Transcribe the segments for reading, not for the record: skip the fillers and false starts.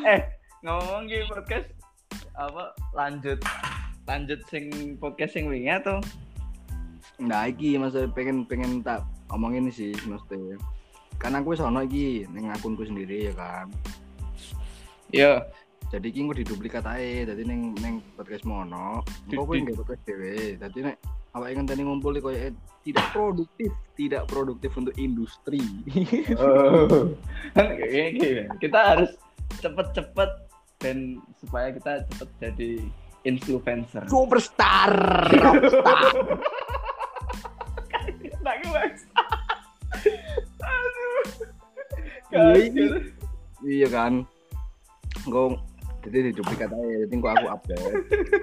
Ngomong gitu podcast apa lanjut sing podcast sing wingi atau Nah, iki maksudnya pengen tak omongin sih mesti. Kan aku wis ono iki ning akunku sendiri ya kan. yo Jadi iki engko diduplikat ae. Dadi ning podcast mono, engko kowe nggak podcast dhewe. Dadi nek awake ngenteni ngumpul koyo tidak produktif untuk industri. Kita harus cepet dan supaya kita cepet jadi influencer. Superstar. Tak guys. Iya kan. Engko jadi diduplikat ae. Dadi engko aku update.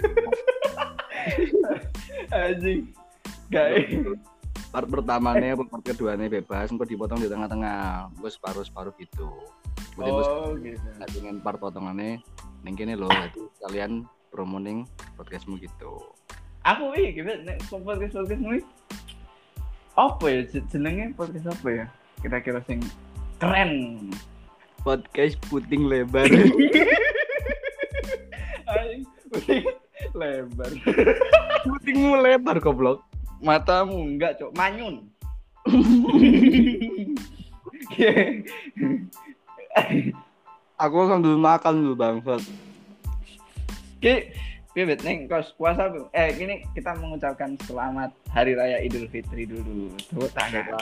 Anjing. Guys. Part pertamanya, part keduanya bebas, engko dipotong di tengah-tengah. Engko separuh gitu. Oh, gitu. Nah, dengan part potongannya ning kene lho, jadi kalian promoting podcastmu gitu. Aku gitu nek podcast apa ya jenenge podcast apa ya? Kira-kira sing keren. Podcast puting lebar. Anjing, puting lebar. Putingmu lebar goblok. Matamu enggak, Cok. Manyun. Aku sambil makan dulu bangsat. Bebet neng kos puasa gini kita mengucapkan selamat Hari Raya Idul Fitri dulu. Tuh tangan.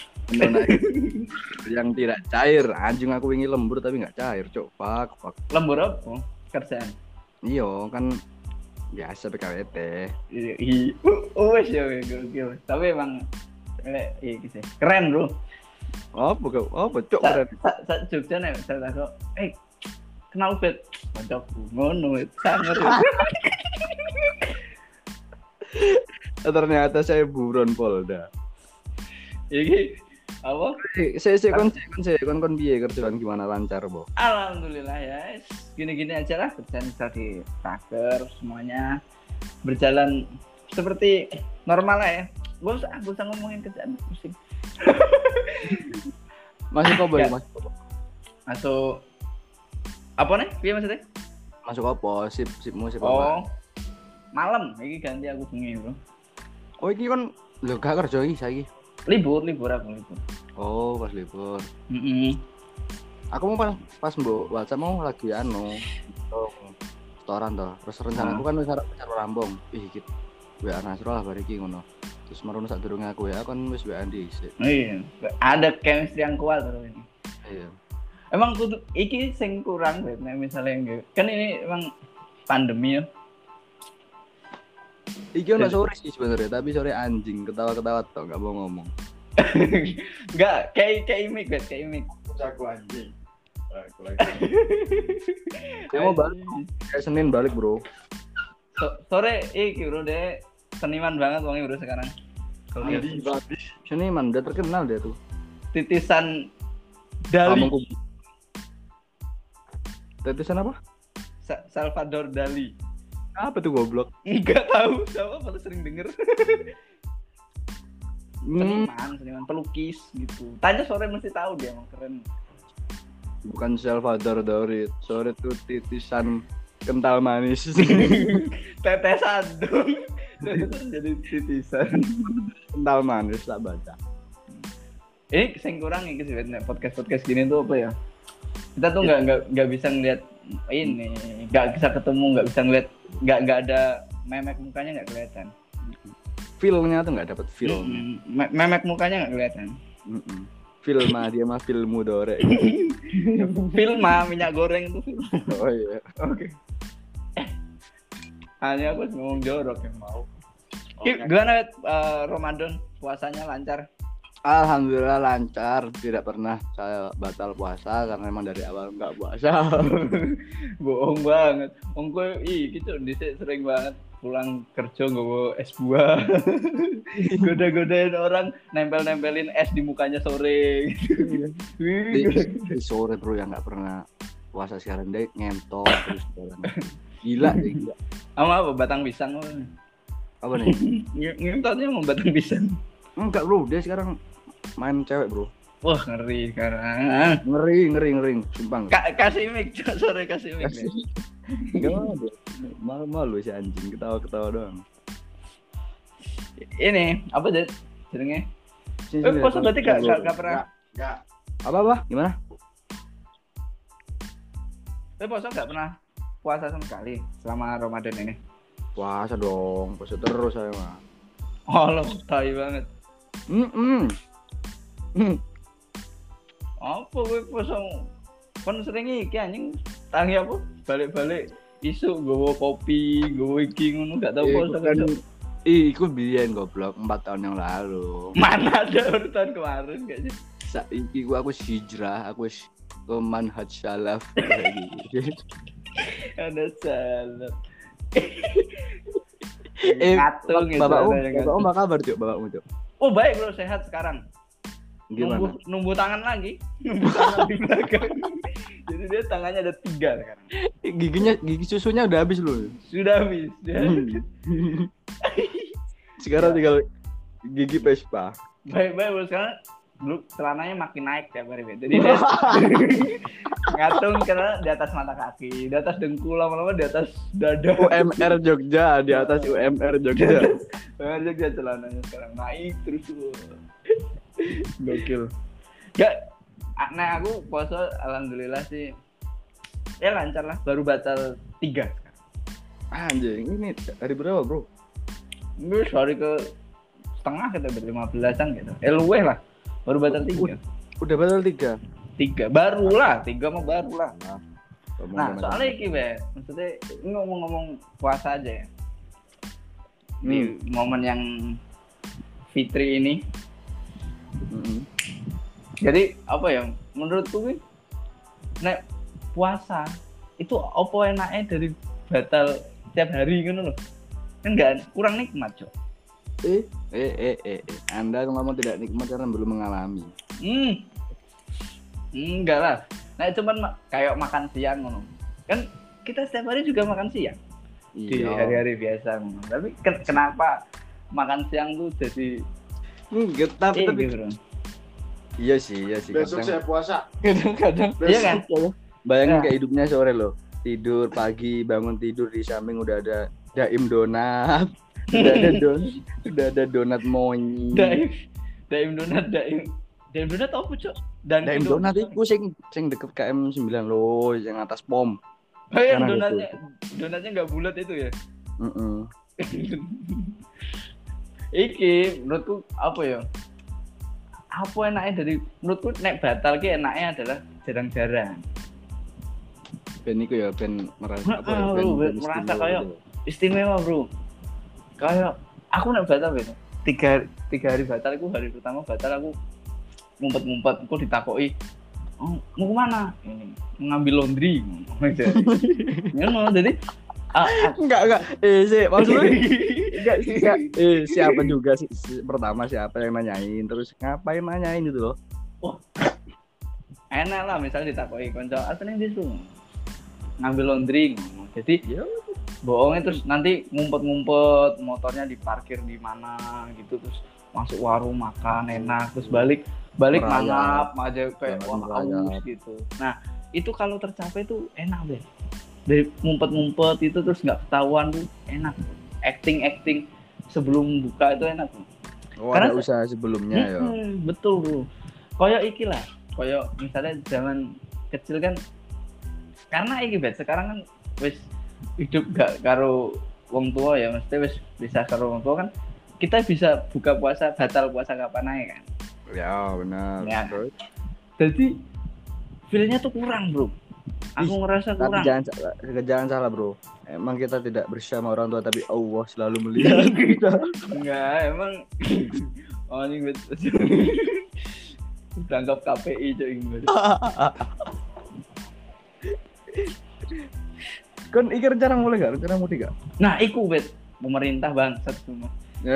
Yang tidak cair, anjing aku ingin lembur tapi nggak cair, cok. Fuck. Lembur apa? Kerjaan. Iya kan biasa PKWT. Wes ya gokil. Tapi emang iki sih. Keren, Bro. Apa cok keren. Sak Jogja nek saya takok, kenal bet kancaku ngono sangar. Ternyata saya buron Polda. Iki apa? Saya kon piye kerjaan gimana lancar, Bo? Alhamdulillah ya. Gini-gini aja lah kerjaan bisa di tracker semuanya berjalan seperti normal lah ya. Gak usah ngomongin kerjaan pusing. Masuk apa ya, Mas? Masuk apa nih? Piye maksudnya? Masuk apa? Sipmu apa? Oh. Malam iki ganti aku bengi, Bro. Oh, iki kan lho gak kerja iki saiki. Libur aku libur. Oh, pas libur. Aku mau pas mbok WhatsApp mau lagi setoran toh. Terus rencanaku kan wis arep rambung. Iki WA Nasrul lah bar iki ngono. Terus merono sak durunge aku ya kan wis WA dhisik. Iya, ada chemistry yang kuat terus ini. Iya. Emang kudu iki sing kurang nek misalnya kan ini emang pandemi ya. Iki ono sore sih sebenarnya, tapi sore anjing ketawa-ketawa tok enggak mau ngomong. Enggak, kayak imik. Aku anjing. Aku lagi. Kamu balik kayak Senin balik, Bro. Sore iki Bro deh seniman banget wongnya Bro sekarang. Seniman udah terkenal dia tuh. Titisan Dali. Titisan apa? Salvador Dali. Apa tuh goblok? Enggak tahu, siapa baru sering denger. Seniman pelukis gitu. Tanya sore mesti tahu dia emang keren. Bukan Salvador Dali, sore tuh titisan kental manis. Tetesan dong. Jadi titisan kental manis tak baca. Ini sing kurang iki sih podcast gini tuh apa ya? Kita tuh nggak bisa ngeliat ini, nggak bisa ketemu, nggak bisa ngeliat, nggak ada memek mukanya nggak kelihatan. Feel-nya tuh nggak dapet feel. Memek mukanya nggak kelihatan. Filma dia mah filmu dore. Filma minyak goreng itu. Oh iya. Oke. Hanya aku ngomong jorok yang mau. Gimana Ramadan puasanya lancar? Alhamdulillah lancar, tidak pernah saya batal puasa karena memang dari awal nggak puasa. Bohong banget. Ongko gitu dhisik sering banget pulang kerja nggawa es buah. Goda-godain orang, nempelin es di mukanya sore. Di sore Bro yang nggak pernah puasa sekarang deh ngentot terus jalan. Gila deh gila. Apa batang pisang apa nih? Ngentotnya mau batang pisang. Enggak Bro, dia sekarang main cewek Bro. Wah, ngeri sekarang. Ngeri, sumpah. Kasih mic, Cok. Sore kasih mic. Enggak ada. Malu si anjing ketawa-ketawa doang. Ini apa jenenge? Sini, Puasa berarti gak pernah. Enggak. Apa? Gimana? Puasa gak pernah puasa sama sekali selama Ramadan ini. Puasa dong, puasa terus saya mah. Oh, lo tai banget. Apa gue puasa? Kan sering iki anjing tangi apa? Balik-balik isu gowo kopi, gowo iki ngono gak tau puasa kan. Iku biyen goblok 4 tahun yang lalu. Mana ada urutan kemarin kayaknya. Saiki aku hijrah, aku wis ke manhaj salaf gitu. Ada salah. Bapakmu apa kabar, Cuk? Bapakmu, Cuk? Oh, baik bro, sehat sekarang. Gimana? Numbu tangan lagi. Numbu tangan di belakang. Jadi dia tangannya ada 3 sekarang. Gigi susunya udah habis loh. Sudah habis. Sekarang tinggal gigi Vespa. Baik bro, sekarang dulu celananya makin naik tiap hari. Jadi dia ngatung karena di atas mata kaki, di atas dengkul, lama-lama di atas dada. UMR Jogja, di atas UMR Jogja. UMR Jogja celananya sekarang naik terus. Gokil. Gak, nah aku puasa alhamdulillah sih ya lancar lah, baru batal 3 sekarang. Anjing, ini hari berapa, Bro? Ini hari ke setengah kita ber-15-an gitu. Luweh lah. Baru batal 3. Udah batal 3. 3 baru lah, 3 mah baru lah. Nah, soalnya iki be, maksudnya ini ngomong-ngomong puasa aja ya. Di momen yang Fitri ini. Jadi apa ya? Menurutku nih, nek puasa itu apa enaknya dari batal tiap hari gitu loh. Kan enggak kurang nikmat, Cok. Anda ngomong tidak nikmat karena belum mengalami. Enggak lah. Nah, cuman kayak makan siang ngono. Kan kita setiap hari juga makan siang. Di hari-hari biasa ngono. Tapi kenapa makan siang tuh jadi tapi bro. Iya sih. Besok saya puasa. Kadang. Iya kan? Bayangin kayak hidupnya sore loh. Tidur pagi, bangun tidur di samping udah ada daim donat. Udah ada donat monyet. Daim donat apa, Cok? Daim donat itu sing deket KM 9 loh, yang atas pom. Oh, yang donatnya enggak bulat itu ya? Iki menurutku apa ya? Apa enaknya dari menurutku nek batal ki enaknya adalah jarang-jarang. Ben iku ya ben merasa merasa kayak istimewa, Bro. Kayak aku nek batal ben. 3 hari batal aku, hari pertama batal aku ngumpet-ngumpet, aku ditakoki, "Oh, mau kemana?" Ini, "Mengambil laundry." Ngono. Jadi enggak. Maksudnya enggak. Siapa juga sih pertama siapa yang nanyain, terus ngapain nanyain gitu loh. Wah. Enak lah misalnya ditakoki kanca, "Apa ning disuruh?" Ngambil laundry. Jadi bohongnya terus nanti ngumpet-ngumpet, motornya diparkir di mana gitu, terus masuk warung makan enak, terus balik mangap aja kayak haus gitu. Nah, itu kalau tercapai tuh enak deh. Dari ngumpet-ngumpet itu terus nggak ketahuan tuh enak. Acting sebelum buka itu enak tuh. Karena ada usaha sebelumnya ya. Betul, Bro. Kayak iki lah. Kayak misalnya zaman kecil kan, karena iki bet sekarang kan wis hidup gak karo wong tua ya, mesti wis bisa karo wong tua kan, kita bisa buka puasa, batal puasa kapan aja kan. Ya benar. Ya. Jadi feelnya tuh kurang, Bro. Aku ngerasa kurang. Tapi jangan salah, Bro. Emang kita tidak bersama orang tua, tapi Allah selalu melihat kita. Enggak, emang ini tangkap KPI coy. Kan iki rencana mulai gak? Rencana mudik gak? Nah, iku bet pemerintah bangsat semua.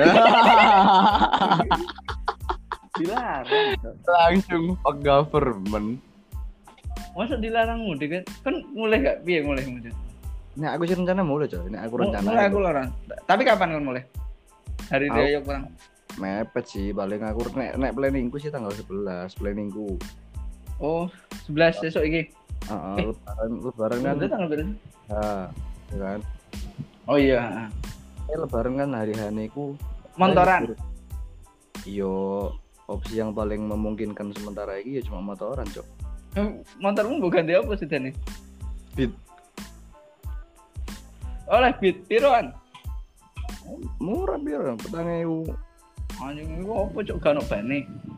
Dilarang. Langsung fuck government. Masa dilarang mudik kan mulai gak? Piye mulai mudik? Nah, aku sih rencana mulai coy. Ini aku rencana. Mulai aku larang. Tapi kapan kan mulai? Hari raya kurang. mepet sih paling aku nek planningku sih tanggal 11 planningku. Oh, 11 besok iki. Lebaran kan. Udah tanggal berapa? Ya kan. Oh iya. Lebaran kan hari haniku Motoran. Yo opsi yang paling memungkinkan sementara ini ya cuma motoran, Cok. Motormu bukan dia apa sih nih? Beat. Oleh beat piroan. Murah biar 4.000. Anjing iku apa cok gak ono bane.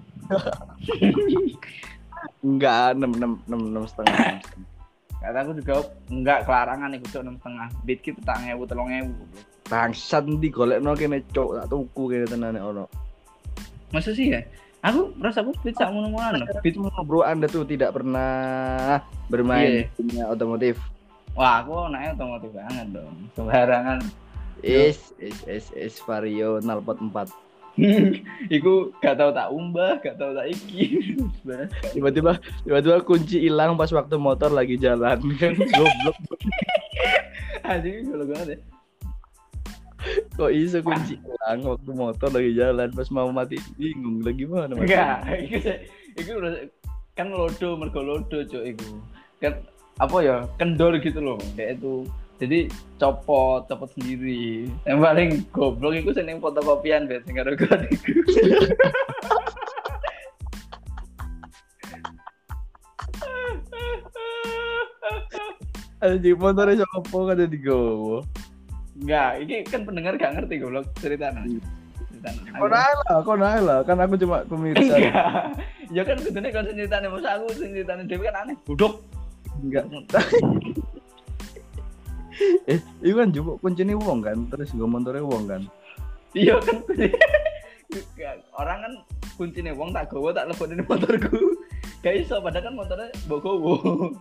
Enggak, 6 setengah. Kata aku juga enggak kelarangan iku cok 6,5. Beat ki 4.000 3.000. Bangsat ndi golekno kene cok tak tuku kene tenane ono. Masa sih ya? Aku rasaku beat sak ngono-ngono. Beat bro, Anda tuh tidak pernah bermain dunia otomotif. Wah, aku anaknya otomotif banget dong. Sembarangan. Vario 044. Iku gak tau tak umbah, gak tau tak iki. Tiba-tiba kunci hilang pas waktu motor lagi jalan kan goblok. Anjing kalau banget ya. Kok iso kunci hilang waktu motor lagi jalan pas mau mati bingung lagi mana mas? Enggak, iku kan lodo mergo lodo cuk iku. Kan apa ya? Kendor gitu loh kayak itu. Jadi copot sendiri. Yang paling goblok iku sing fotokopian bet sing karo gon iku. Anjing motornya sopo kan digowo. Enggak, ini kan pendengar gak ngerti goblok ceritanya. Kok naik lah, kan aku cuma pemirsa. Ya kan kudune kon ceritane, masa aku ceritane dhewe kan aneh. Budok. Enggak. Itu kan jupuk kuncine wong kan, terus nggo montore wong kan. Iya kan. Orang kan kuncine wong tak gowo tak lebokne motorku. Gak iso padahal kan motornya mbok gowo.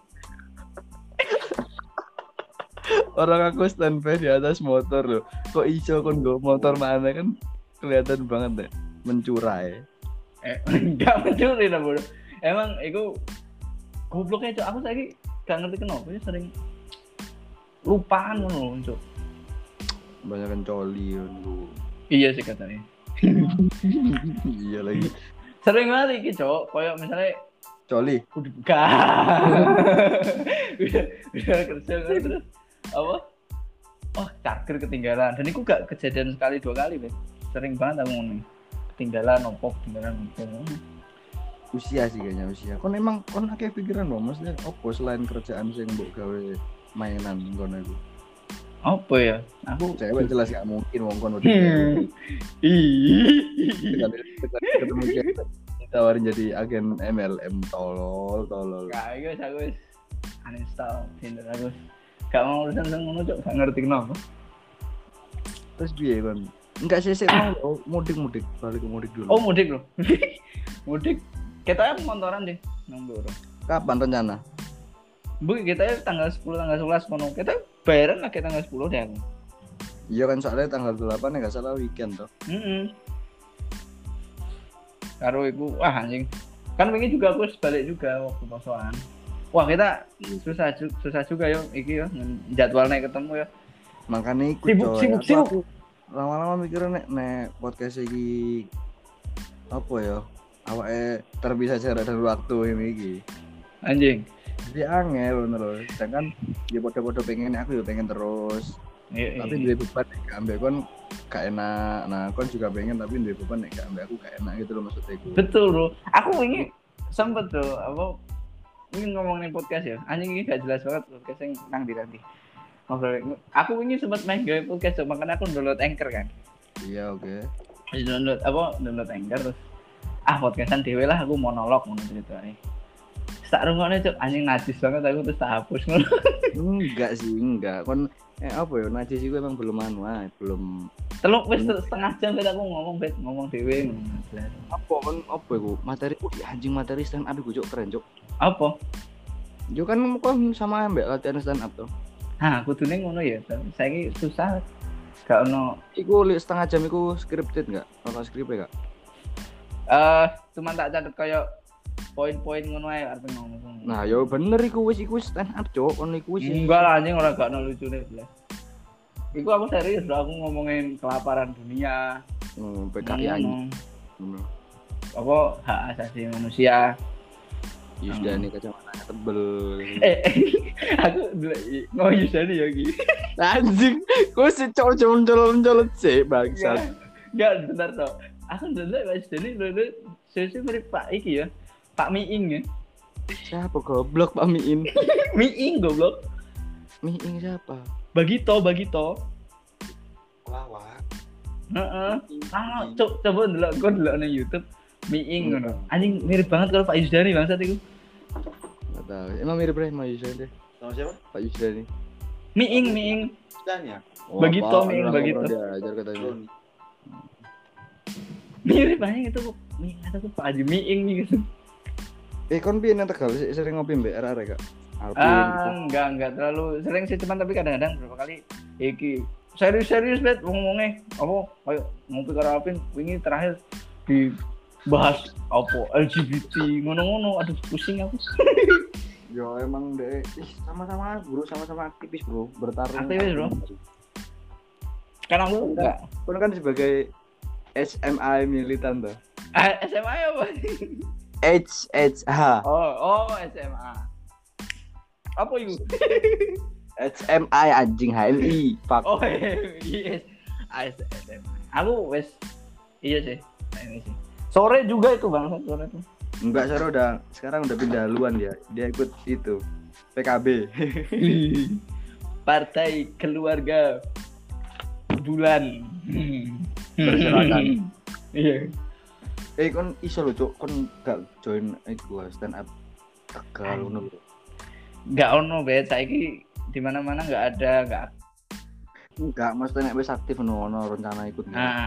Orang aku standby di atas motor loh. Kok iso kon nggo motor mana kan kelihatan banget deh mencurai. Enggak mencuri lah bro. Emang itu gobloknya cok. Aku lagi gak ngerti kenapa ya sering lupaan ngono cok. Banyak coli lu. Iya sih katanya. Iya lagi. Sering banget iki cok. Kayak misalnya coli. Udah kerja kan terus apa? Oh charger ketinggalan. Dan itu gak kejadian sekali 2 kali bet. Sering banget aku ngomong ketinggalan opo. Usia sih kayaknya usia. Kon emang kon akeh pikiran loh, maksudnya opo selain kerjaan sing mbok gawe mainan ngono iku. Apa ya? Aku cewek jelas gak mungkin wong kon udah. Ketemu cewek ditawarin jadi agen MLM tolol. Gak guys, aku uninstall Tinder aku. Gak mau urusan ngono cok, gak ngerti kenapa. Terus piye kon? Enggak sih mau mudik balik ke mudik dulu. Oh mudik loh. Mudik kita motoran deh nambur. Kapan rencana? Bu kita tanggal 10 tanggal 11 kono. Kita bayaran lah tanggal 10 deh aku. Iya kan soalnya tanggal 8 ya enggak salah weekend toh. Karo iku wah anjing. Kan wingi juga aku balik juga waktu posoan. Wah kita susah juga yo iki yo jadwalnya ketemu ya. Makanya ikut sibuk. Lama-lama mikirnya nek podcast iki apa ya? Awake terpisah jarak dan waktu ini iki. Anjing. Jadi angel bener loh. Sedangkan dia podo-podo pengen aku ya pengen terus. Tapi duwe beban nek gak ambek kon gak enak. Nah, kon juga pengen tapi duwe beban nek gak ambek aku gak enak gitu loh maksudnya iku. Betul, Bro. Aku wingi sempet tuh apa ingin ngomongin podcast ya. Anjing ini gak jelas banget podcast yang nang di. Ngobrol. Aku wingi sempet main gawe podcast makanya aku download Anchor kan. Iya, oke. Download Anchor terus podcastan dhewe lah aku monolog ngono ceritane. Tak rungokne cuk anjing najis banget aku terus tak hapus ngono. Enggak. Kon apa ya najis iku emang belum belum teluk wis setengah jam bet aku ngomong dhewe ngono. Apa iku? Materi anjing materi stand up iku cuk keren cuk. Apa? Yo kan sama ambek latihan stand up tuh. Kudune ngono ya. Saiki susah gak ono. Iku setengah jam iku scripted enggak? Ono skripnya enggak? Cuma tak catet kayak poin-poin ngono ae arep ngomong. Nah, yo bener iku wis stand up, Cuk. Ono iku wis. Enggak lah anjing gak ono lucune blas. Iku aku serius bro, aku ngomongin kelaparan dunia, PKI anjing. Apa hak asasi manusia. Yusdani kacamatanya tebel. Aku mau Yusdani ya Ki. Anjing, kok si colon sih bangsat. Enggak bentar toh. Aku ndelok Mas Yusdani lho sesi mirip Pak iki ya. Pak Miing ya. Siapa goblok Pak Miin? Miing goblok. Miing siapa? Bagito. Lawak. Heeh. Coba ndelok nang YouTube. Miing ngono. Anjing mirip banget kalau Pak Yusdani bangsat iku. Enggak tahu. Emang mirip Pak Yusdani? Sama siapa? Pak Yusdani. Miing. Dan ya. Bagito, Miing Bagito. Diajar katanya. Mirip banget itu Miing atau Pak Haji Miing gitu. Kon piye nang Tegal sering ngopi mbek arek Kak? Alvin. Enggak terlalu sering sih cuman tapi kadang-kadang berapa kali iki serius bet ngomongnya apa kayak ngopi karo Alvin wingi terakhir dibahas apa LGBT ngono-ngono aduh pusing aku. Yo emang deh sama-sama bro, sama-sama aktivis bro, bertarung. Aktivis bro. Karena aku enggak. Kon kan sebagai SMA militan tuh. SMA apa? HHH. Oh SMA. Apa itu? HMI anjing HMI. Fuck. Oh yes. SMA. Aku wes iya sih. Ini sih. Sore juga itu Bang, sore tuh. Enggak, sekarang udah pindah haluan dia. Dia ikut itu PKB. Partai Keluarga Bulan. Berserakan. Iya. Kon iso lho, Cuk. Kon gak join iku stand up Tegal ngono lho. Gak ono bet saiki di mana-mana enggak ada, enggak maksudnya nek wis aktif ono rencana ikut.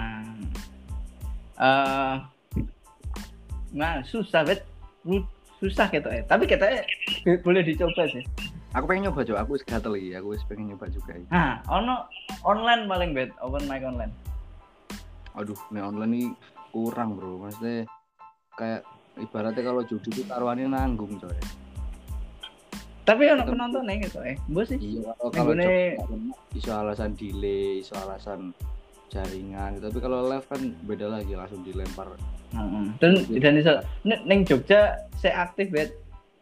Nah, susah bet. Susah gitu tapi kita boleh dicoba sih. Aku pengen nyoba, Cuk. Aku wis gatel iki. Aku wis pengen nyoba juga. Ono online paling bet, open mic online. Aduh, nek online nih kurang bro, maksudnya kayak ibaratnya kalau judi itu taruhannya nanggung coy. Tapi ono penonton nih gitu bos sih. Iya, kalau iso alasan delay, iso alasan jaringan, tapi kalau live kan beda lagi, langsung dilempar. Dan iso neng Jogja saya aktif bet.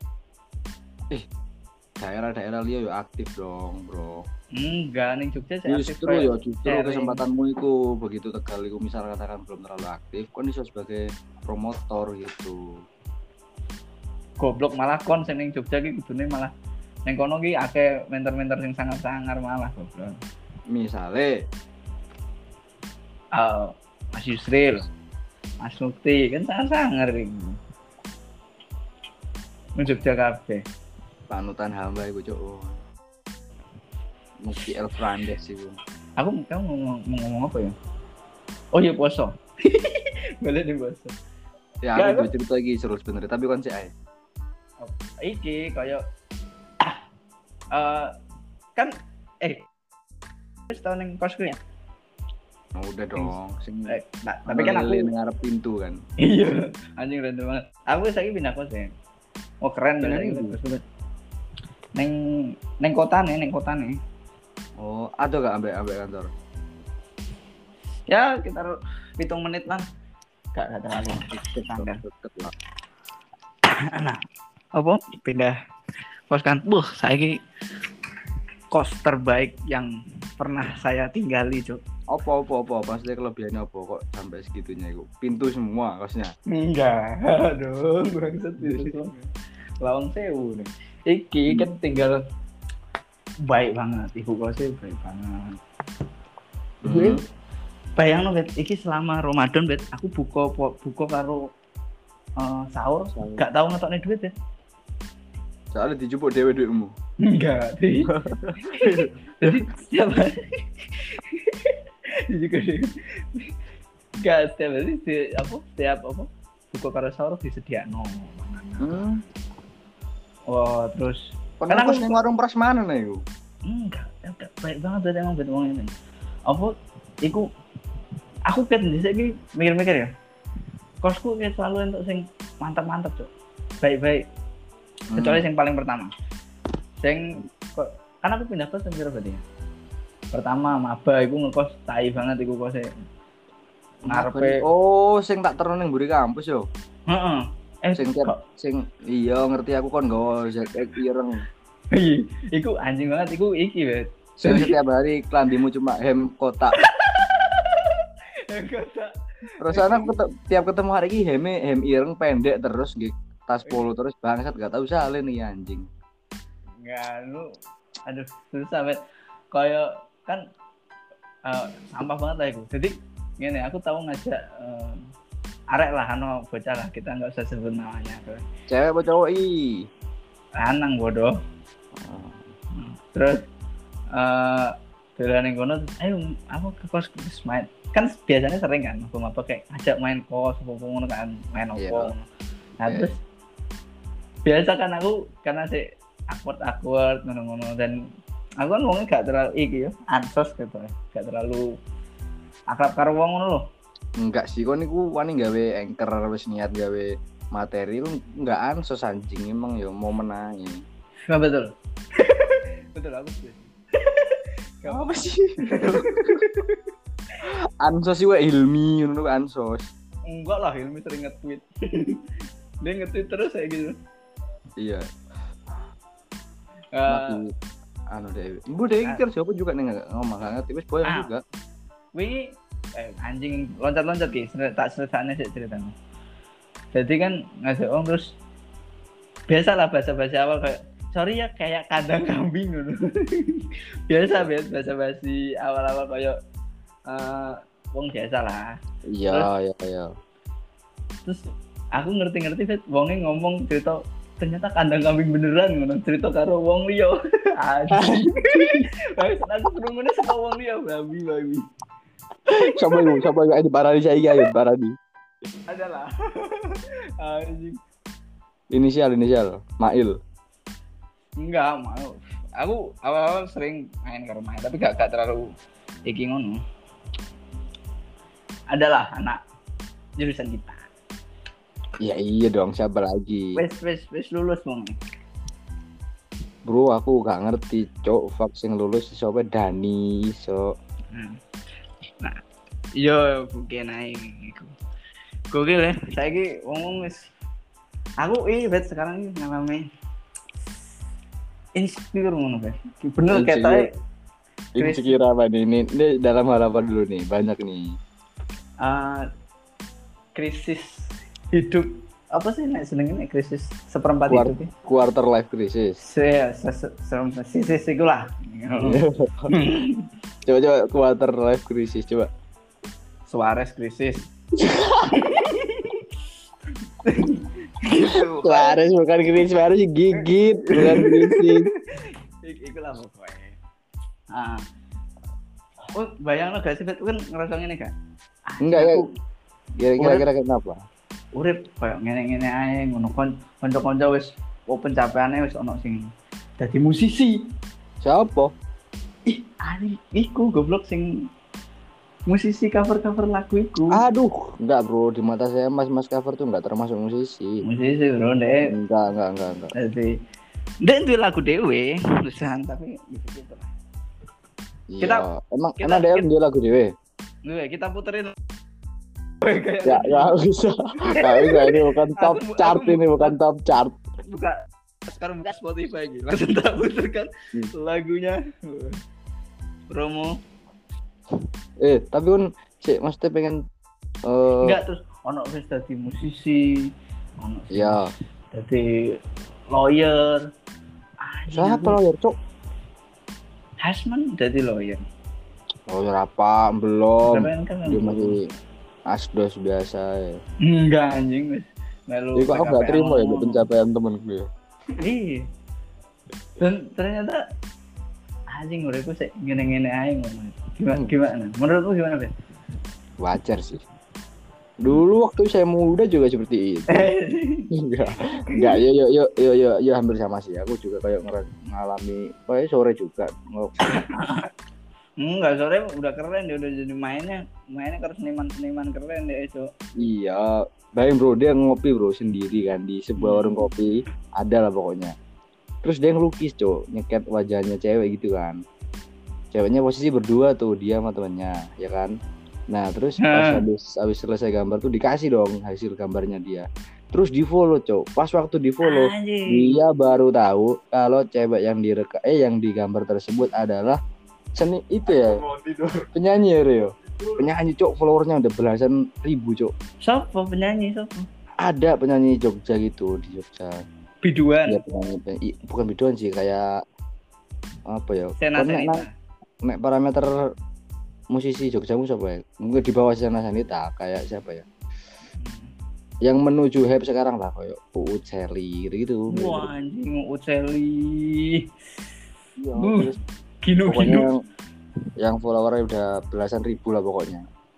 Daerah-daerah liya yo aktif dong bro. Enggak, neng Jogja saya aktif. Justru kesempatanmu itu begitu Tegal itu misal katakan belum terlalu aktif, kon iso sebagai promotor gitu. Goblok malah kon sing neng Jogja iki kudune malah neng kono iki akeh mentor-mentor sing sangar-sangar malah goblok. Misale Mas Yusril, Mas Mukti kan sangar-sangar iki. Neng Jogja kabeh. Panutan hamba iku Cuk. Mukti El Frandes itu. Kamu ngomong apa ya? Oh iya poso. Boleh di poso. Ya aku cerita lagi seru sebenarnya, tapi kan sih ae. Iki kayak kan wis tau ning kosku ya. Oh, udah dong. Tapi kan aku ngarep pintu kan. Iya, anjing random banget. Aku saiki pindah kos ya. Oh keren banget. Neng kota nih. Oh, ada gak ambek kantor? Ya, sekitar 7 menit lah. Gak terlalu tetangga. Nah, apa? Pindah kos kan. Saiki kos terbaik yang pernah saya tinggali, Cuk. Apa? Pasti kelebihannya apa kok sampai segitunya itu? Pintu semua kosnya? Enggak, aduh, bangsat itu. Lawang Sewu nih. Iki kan tinggal baik banget, ibu kosnya baik banget. Gue bayang bet, iki selama Ramadan bet, aku buka karo sahur, gak tahu ngetoknya duit bet. Soalnya dijupuk dewe duitmu. Enggak, jadi setiap hari juga enggak setiap hari setiap buka karo sahur disediakno. Oh terus karena aku warung prasmanan ya iku. Enggak baik banget bet emang bet wong ini. Apa iku aku kan dhisik mikir-mikir ya. Kosku kayak selalu untuk sing mantap-mantap, Cuk. Baik-baik. Kecuali yang paling pertama. Kan aku pindah kos berapa berarti ya? Pertama maba iku ngekos tai banget iku kose. ngarepe. Oh, sing tak terus ning mburi kampus yo. Heeh. Sing iya ngerti aku kon nggawa ZX ireng. Iku anjing banget, iku iki wes. Sing setiap hari klambimu cuma hem kotak. Kotak. Terus anak tiap ketemu hari ini hem ireng pendek terus nggih tas polo terus bangsat gak tahu salin nih anjing. Enggak, lu aduh susah banget. Kayak kan sampah banget lah itu. Jadi gini, aku tahu ngajak arek lah, bocah lah, kita nggak usah sebut namanya. Cewek apa cowok lanang bodoh. Terus dolan ning kono, ayo aku ke kos main. Kan biasanya sering kan apa kayak ajak main kos apa ngono kan, main opo. Nah, terus biasa kan aku karena si awkward ngono-ngono, dan aku kan ngomongnya gak terlalu iki ya, ansos gitu. Gak terlalu akrab karo wong ngono lho. Enggak sih, kon niku wani gawe anchor wis niat gawe materi lu enggak ansos anjing emang ya mau menangi. Nah, betul. Betul aku sih. Apa sih? Ansos sih Hilmi ngono ansos. Enggak lah, Hilmi sering nge-tweet. Dia nge-tweet terus kayak gitu. Iya. Anu deh. Bu deh iki siapa juga nih ngomong banget wis boyong juga. Wingi anjing loncat-loncat ki, tak ceritanya sih ceritanya. Jadi kan ngasih terus biasalah bahasa-bahasa awal kayak sorry ya kayak kandang kambing gitu. biasa basa-basi awal-awal kayak wong biasa lah. Iya. Terus aku ngerti wongnya ngomong cerita ternyata kandang kambing beneran ngono, cerita karo wong liya. Anjing. Wis aku krungune saka wong liya, babi. Siapa yang di Paradi saya ya Paradi. Adalah. Anjing. Inisial Mail. Enggak mau. Aku awal-awal sering main ke rumah tapi gak terlalu iki ngono. Adalah anak jurusan kita. Ya iya dong, siapa lagi? Wes lulus wong. Bro, aku gak ngerti, cok, vaksin lulus siapa Dani, so. Nah, yo bukan ae iku. Gokil ya, saiki wong wis aku bet sekarang iki ngalami insecure ngono kan. Bener ketoke. Insecure apa nih? Ini dalam hal apa dulu nih? Banyak nih. Krisis hidup apa sih nek senengnya krisis seperempat hidup ya? Quarter life crisis. Krisis iku lah. Coba quarter life crisis coba. Suarez krisis. Suarez bukan krisis, Suarez gigit, bukan krisis. Iku lah pokoknya. Oh, bayangno gak sih kan ngerasa ngene gak? Enggak ya. Kira-kira kenapa? Urip koyo ngene-ngene ae ngono kanca-kanca wis pencapaiane wis ana sing dadi musisi. Siapa? Anjing iku goblok sing musisi cover lagu iku. Aduh, enggak bro, di mata saya mas cover tuh enggak termasuk musisi. Musisi bro, Dek. Enggak. Jadi Dek itu lagu dewe, tulisan tapi gitu lah. Iya, emang dia lagu dewe. Kita puterin. Ya bisa. Ini bukan top chart ini, bukan top chart. Sekarang buka Spotify gitu. Langsung tak puterkan lagunya. Promo. Tapi kan mesti pengen enggak terus ono wis dadi musisi, ono ya dadi lawyer. Siapa lawyer, Cok? Hasman dadi lawyer. Lawyer apa? Belum. Kan dia masih asdos biasa ya. Enggak anjing wis. Melu. Jadi aku enggak terima ya pencapaian temenku ya. Iya. Dan ternyata anjing uripku sik ngene-ngene ae ngono. Gimana? Menurutmu gimana, Ben? Wajar sih. Dulu waktu saya muda juga seperti itu. Enggak, yo hampir sama sih. Aku juga kayak ngalami kayak sore juga. Enggak, sore udah keren dia, udah jadi mainnya ke seniman keren dia itu. Iya, bayang bro, dia ngopi bro sendiri kan di sebuah warung kopi, ada lah pokoknya. Terus dia ngelukis nyeket wajahnya cewek gitu kan. Ceweknya posisi berdua tuh, dia sama temannya, ya kan. Nah terus pas habis selesai gambar tuh dikasih dong hasil gambarnya dia. Terus di follow cok. Pas waktu di follow dia baru tahu kalau cewek yang yang digambar tersebut adalah seni itu ya. Penyanyi ya Rio. Penyanyi cok, followernya udah belasan ribu cok. Siapa penyanyi? Ada penyanyi Jogja gitu di Jogja. Biduan. Ya, bukan biduan sih, kayak apa ya? Nek parameter musisi Jogja siapa ya? Mungkin di bawah Sena Sanita, kayak siapa ya? Yang menuju hype sekarang lah kayak Uut Seli gitu. Wah anjing Uut Seli. Ya, Gino. Yang followernya udah belasan ribu lah pokoknya.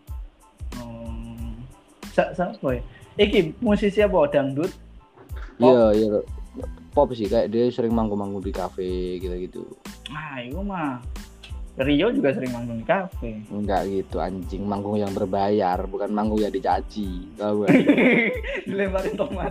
Siapa ya? Iki musisi apa? Dangdut? Iya. Pop sih, kayak dia sering manggung-manggung di kafe gitu-gitu. Ah, itu mah. Rio juga sering manggung di kafe. Enggak gitu anjing, manggung yang berbayar, bukan manggung yang dicaci. Tahu gak? Dilemparin tomat.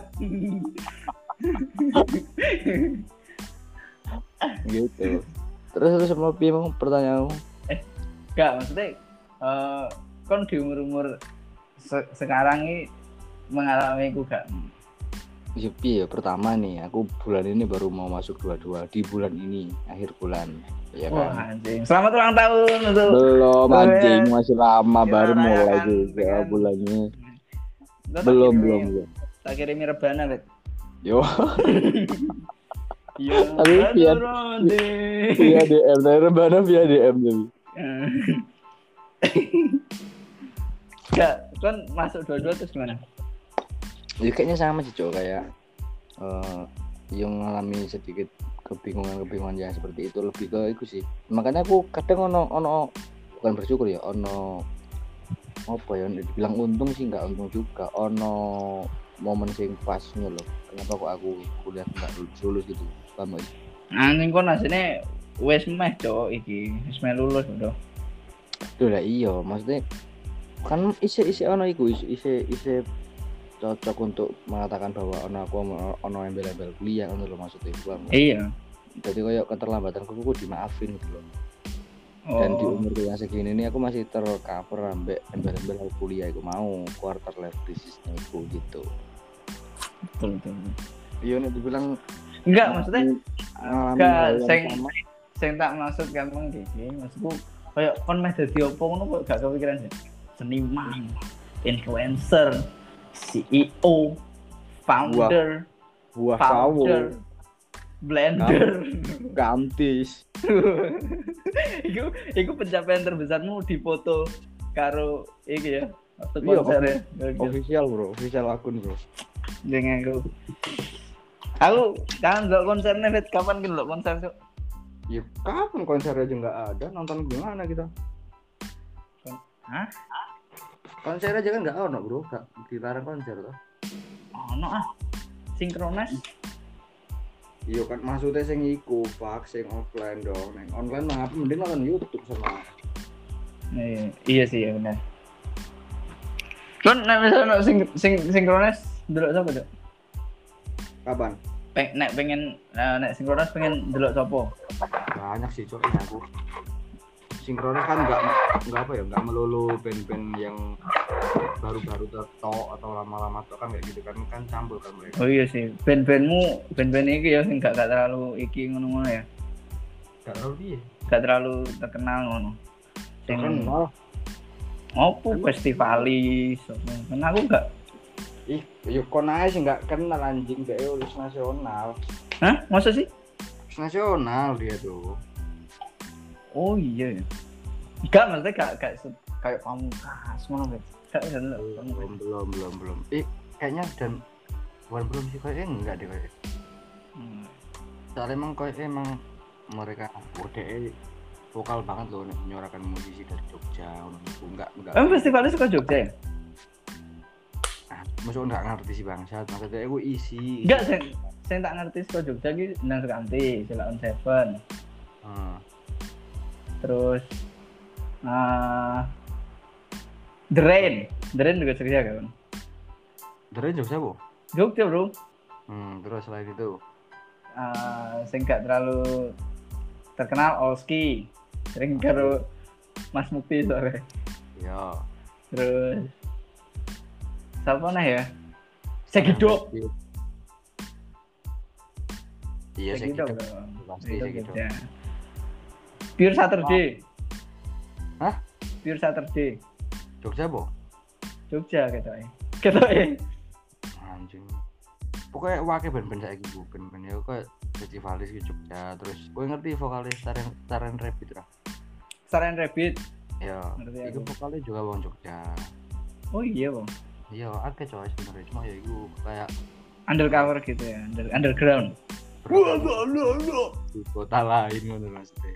Gitu. Terus sama Pim pertanyaanmu? Enggak, maksudnya kan di umur sekarang ini mengalami aku gak? Ya pertama nih, aku bulan ini baru mau masuk 22 di bulan ini, akhir bulan. Ya kan? Wah anjing, selamat ulang tahun untuk. Belum anjing, masih lama baru mulai juga bulannya. Belum. Tak kirimi rebana, Bet. Yo. Iya, tapi via DM, rebana via DM tapi. Enggak, kan masuk 22 terus gimana? Ya kayaknya sama sih cok, kayak yang mengalami sedikit kebingungan yang seperti itu, lebih ke itu sih. Makanya aku kadang ono bukan bersyukur ya, ono apa ya, dibilang untung sih nggak untung juga, ono momen sing pasnya loh. Kenapa kok aku kuliah nggak lulus gitu, paham gak? Anjing kok asine wis meh cok iki, wis meh lulus udah. Tuh lah iya, maksudnya kan isi ono iku isi cocok untuk mengatakan bahwa ono embel-embel kuliah ono lho maksudnya gua. Iya. Jadi kayak keterlambatanku dimaafin gitu loh. Dan di umur yang segini ini aku masih tercover ambek embel-embel kuliah aku mau quarter life crisis aku gitu. Betul. Iya nek dibilang enggak maksudnya enggak sing tak maksud gampang iki maksudku kayak kon meh dadi opo ngono kok gak kepikiran sih. Seniman, influencer, CEO, founder, blender, gantis. Iku pencapaian terbesarmu di foto karo iki ya. Waktu konser ya. Official akun bro. Jangan aku kangen ndelok konsernya Fet, kapan ki ndelok konser Cuk? Ya kapan konser aja nggak ada, nonton gimana kita? Hah? Konser aja kan nggak ono bro, nggak dilarang konser toh? Ono sinkronis. Iya kan maksudnya sing iku pak, sing offline dong. Neng online mah apa mending nonton YouTube sama. Iya sih ya benar. Kon nek misalnya sinkronis delok sapa, Cuk? Kapan? Pengen nek sinkronis pengen delok sapa? Banyak sih Cuk aku. Sinkronis kan nggak melulu band-band yang baru-baru tertok atau lama-lama tok kan kayak gitu kan campur kan mereka. Oh iya sih, band iki ya sing gak terlalu iki ngono-ngono ya. Gak terlalu piye? Gak terlalu terkenal ngono. Sing terkenal. Opo festivalis, kan aku gak. Yo kon ae sing gak kenal anjing gak lulus nasional. Hah? Masa sih? Nasional dia tuh. Oh iya ya. Enggak, maksudnya gak kayak Pamungkas ngono guys. Belum. Kayaknya dan belum sih kayaknya enggak deh kayak. Soalnya emang kayaknya emang mereka vokal banget loh menyuarakan musisi dari Jogja. Enggak. Festivalnya suka Jogja ya? Maksudnya enggak ngerti sih bangsat. Maksudnya aku isi. Enggak, saya tak ngerti suka Jogja iki nang Sekanti, Silaun Seven. Terus The Rain juga Jogja kan? The Rain Jogja bu? Jogja bro. Terus selain itu? Sing gak terlalu terkenal Olski, sering karo Mas Mukti soalnya. Iya. Terus siapa nah ya? Segido. Iya Segido. Segido. Pasti Segido. Ya. Pure Saturday. Hah? Pure Saturday. Jogja po? Jogja ketoke. Anjing. Pokoknya wakil band-band saiki ku, band-band ya kok festivalis ke Jogja. Terus kowe ngerti vokalis Taren Rabbit ra? Saran Rabbit. Ya, Ngerti iku aku. vokalnya juga wong Jogja. Oh iya, Bang. Iya, akeh coy sebenarnya cuma ya iku kayak Undercover gitu ya, underground. di kota lain ngono maksudnya.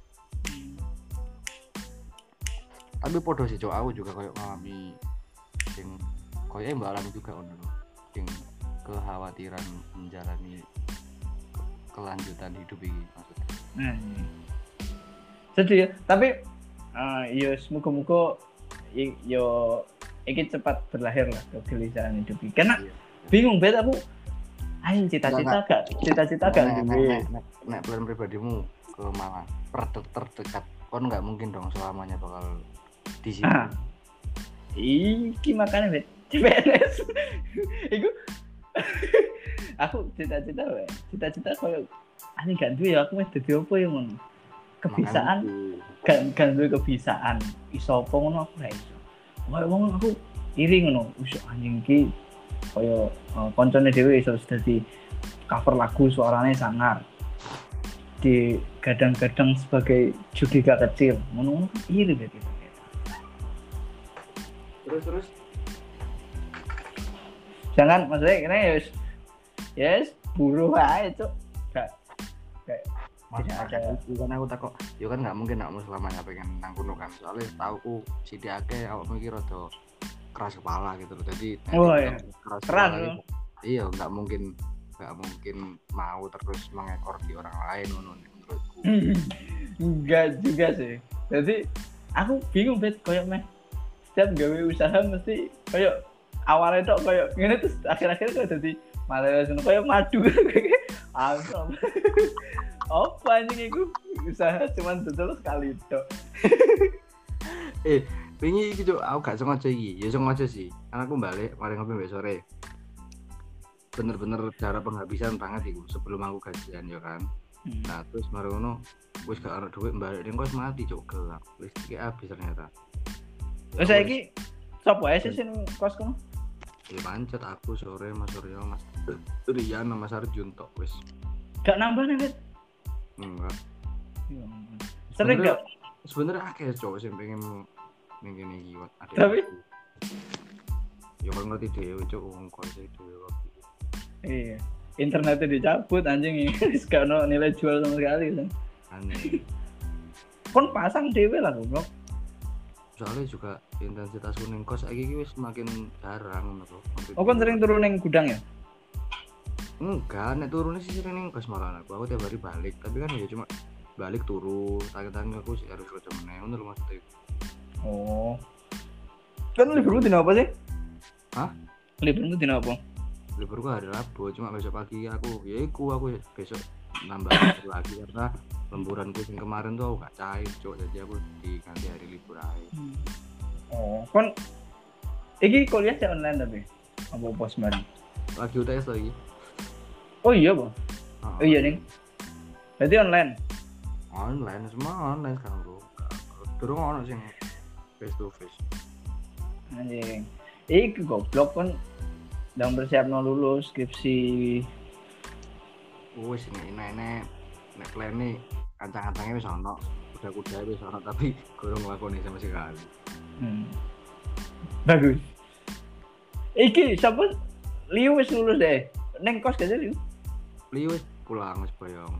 Tapi podo sih cowok aku juga kayak ngalami sing koyo mbak alami juga ngono lho. Sing kekhawatiran menjalani kelanjutan hidup ini maksudnya. Nah, ini. Sedih ya, tapi yo semoga-moga yo iki cepat berlahir lah kegelisahan hidup ini. Karena bingung banget aku. Ayo cita-cita gak duwe. Nek plan pribadimu ke Malang terdekat kon nggak mungkin dong selamanya bakal di sini. Iki makanya bet CPNS. Iku aku cita-cita koyo ani gak duwe ya aku mesti dadi opo ya ngono. Kebisaan gak duwe kebisaan. Iso opo ngono aku ra iso. Koyo wong aku iri ngono. Wis anjing iki koyo koncone dhewe iso dadi cover lagu suaranya sangar. Di gadang-gadang sebagai Judika kecil. Ngono iri bet itu. Terus Jangan maksudnya ini yes buruh aja cuk gak tidak ada itu kan aku takut ya kan nggak mungkin kamu selamanya pengen nang kuno kan soalnya tauku sithik akeh awak mikir rada keras kepala gitu loh jadi iya. Keras loh iya nggak mungkin mau terus mengekor di orang lain menurutku enggak juga sih jadi aku bingung bet koyo meh setiap gawe usaha mesti koyo awalnya tuh kayak gini terus akhir-akhir kayak jadi malah kayak madu asam apa anjing itu usaha cuman betul sekali tuh wingi iki cuk aku gak sengaja iki ya sengaja sih karena aku balik mari ngopi besok sore bener-bener cara penghabisan banget iku sebelum aku gajian ya kan nah terus mari ngono wis gak ada duit balik ning kos mati cuk gelap listrik habis ternyata terus saiki sapa ae sih sing kos kono ya pancet aku sore Mas Suryo Mas Rian Mas Arjun tok wis gak nambah nih bet enggak sering gak sebenarnya akeh cowok sing pengen ning kene iki tapi ya kan ngerti dhewe cuk wong kos dhewe iya internetnya dicabut anjing ini gak ono nilai jual sama sekali kan aneh kon pasang dhewe lah goblok soalnya juga intensitas kuning kos lagi wis semakin jarang menurut. Oh kan sering turun neng gudang ya? Enggak, nek turunnya sih sering neng kos malah aku tiap hari balik, tapi kan ya cuma balik turun, tangan aku sih harus kerja meneng, menurut maksudnya. Oh, kan liburmu dina apa sih? Hah? Liburmu dina apa? Liburku hari Rabu, cuma besok pagi aku besok nambah lagi karena lemburanku yang kemarin tuh aku gak cair cok jadi aku diganti hari libur aja. Oh kon iki kuliah sih online tapi apa pos bareng lagi UTS lagi oh iya bang oh iya nih berarti online semua online sekarang bro turun ono sing face to face anjing iki goblok kan sedang bersiap mau lulus skripsi wis nek plan nih kancang-kancangnya wis ono kuda-kuda wis ono tapi kurang nglakoni sama sekali bagus iki siapa Liu wis lulus deh neng kos gak sih Liu wis pulang wis boyong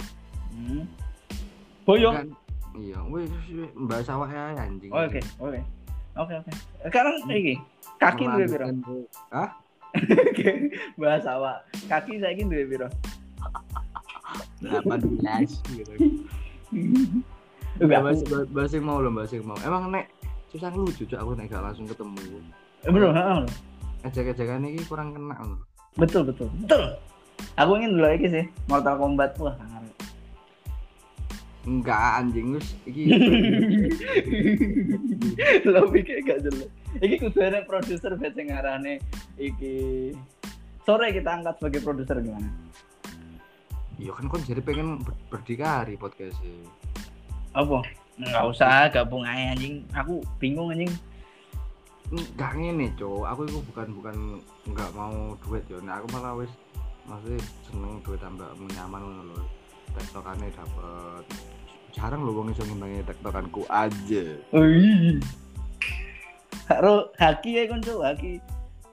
boyong iya wis mbak sawah ae anjing oke sekarang iki kaki duwe piro hah bahas awak kaki saiki duwe piro 18 gitu. Bahasa yang mau. Emang nek susah lucu aku nek gak langsung ketemu. Bro, heeh. Ejek-ejekan iki kurang kena lho. Betul. Aku ingin dulu lagi sih Mortal Kombat wah sangat. Enggak anjing wis iki. Lo pikir gak jelas. Iki kudu ada produser bet sing ngarane iki. Sore kita angkat sebagai produser gimana? Iya kan kon jadi pengen berdikari podcast sih. Apa? Enggak usah gabung aja anjing. Aku bingung anjing. Enggak ngene, Cuk. Aku itu bukan enggak mau duit yo. Nah, aku malah wis masih seneng duit tambah nyaman ngono lho. Tektokane dapet. Jarang lho wong iso ngimbangi tektokanku aja. Wih. Haki ya kon Cuk, haki.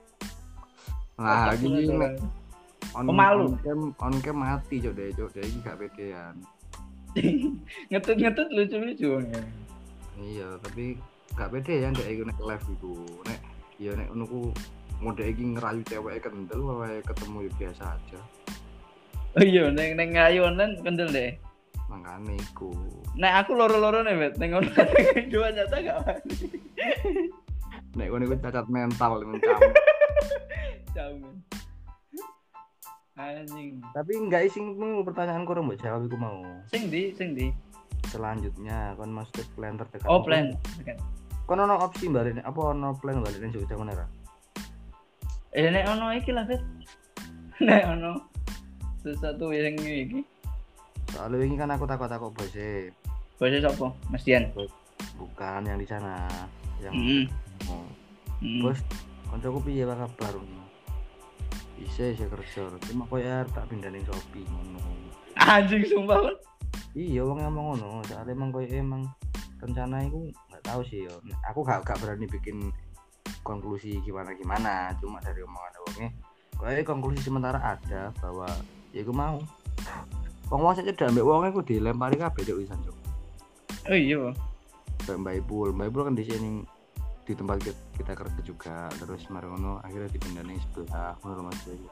Nah, gini nek pemalu. On cam mati Cuk deh iki gak pedean. Ngetut lucu-lucu ya. Iya, tapi gak pede ya ndek iku nek live iku. Nek ya nek ngono ku mode iki ngerayu cewek kendel wae ketemu ya biasa aja. Oh iya, neng ngayu online kendel deh. Makane iku. Nek aku loro-loro nih, Bet. Neng ono dua nyata gak wani. Nek kono iku cacat mental mencam. Jamin. Anjing. Tapi enggak isingmu pertanyaanku ora mbok jawab iku mau. Sing di. Selanjutnya kon maksud plan terdekat. Oh, plan. Kon ono opsi balik apa ono plan balik nang Jogja ngono ra? Nek ono iki lah, Bet. Nek ono sesuatu yang iki. Soalnya ini kan aku takut bose. Bose sapa? Mas Dian. Bukan yang di sana, yang bos. Kancaku piye wae kabar ngono. Bisa kerja, cuma koyo tak pindah ning Shopee ngono. Anjing sumpah kan. Iya wong ngomong ngono, soalnya emang koyo emang rencana iku enggak tahu sih yo. Aku gak berani bikin konklusi gimana, cuma dari omongan wonge koyo konklusi sementara ada bahwa ya iku mau. Wong saja udah ambek wonge ku dilempari kabeh cuk wisan cuk. Oh iya. Mbak Ipul kan di sini di tempat kita kerja juga, terus marono akhirnya dipindah ning sebelah ngono Mas Dewi.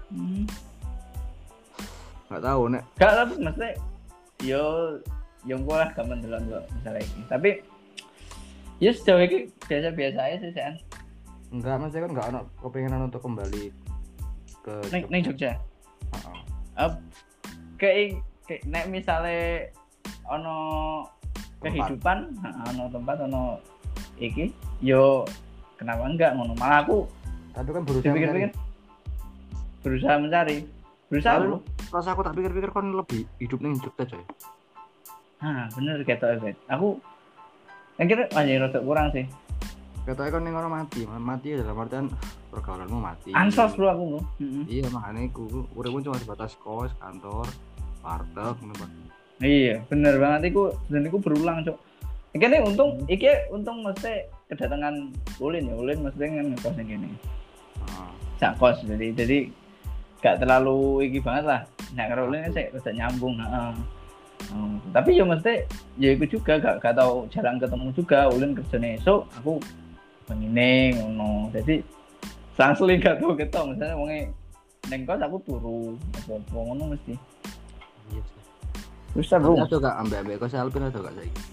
Enggak tahu nek. Gak lah maksudnya yo engko lah gak mendelon kok misalnya iki. Tapi ya sejauh ini biasa-biasa aja sih, San. Enggak, maksudnya kan enggak ono kepengenan untuk kembali ke ning Jogja. Heeh. Kayak nek misale ono kehidupan, ono tempat, ono iki, yo kenapa enggak ngono? Malah aku tapi kan berusaha mencari. Berusaha. Pas aku tak pikir-pikir kon lebih hidup ning Jogja coy. Bener ketok Event. Aku kira anjir rada kurang sih. Ketoke kon ning orang mati dalam artian pergaulanmu mati. Ansos bro aku bro. Iya makanya aku uripku cuma sebatas kos, kantor, warteg ngono. Iya, bener banget iku dan iku berulang, Cuk. Iki untung mesti kedatangan Ulin mesti ngekos yang gini. Sak kos jadi gak terlalu iki banget lah. Nah, kalau Ulin sih udah nyambung, tapi ya mesti ya iku juga gak tahu jarang ketemu juga. Ulin kerjane esuk, aku pengine ngono. Jadi sangsling gak tau ketemu misalnya wonge neng kos aku turu apa ngono mesti. Iya. Terus seru. Ada gak ambek kos Alpin ada gak saiki?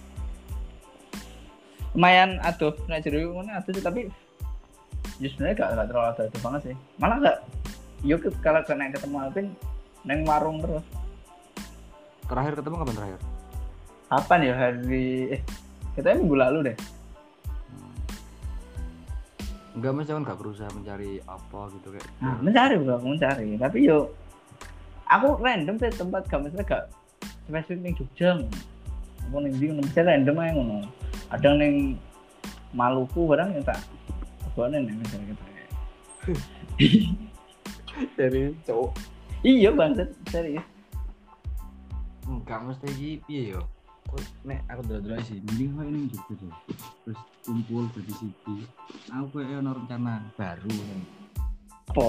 Lumayan aduh, nek jero ngono aduh sih tapi ya sebenarnya gak terlalu aduh banget sih. Malah gak yuk kalau kena ketemu Alvin neng warung terus. Terakhir ketemu kapan terakhir? Kapan ya hari kita minggu lalu deh. Enggak, mas kan gak berusaha mencari apa gitu kayak. Mencari tapi yo aku random sih tempat gak mesti gak spesifik ning Jogja. Aku ning ndi mesti random ae ngono. Ada ning Maluku barang ya tak. Bone ning misalnya gitu. Dari cowok. Iya banget serius. Enggak mesti iki piye yo. Nek aku dulu sih mending koyo ning Jogja tuh. Terus kumpul jadi siji. Aku koyo ono rencana baru kan. Apa?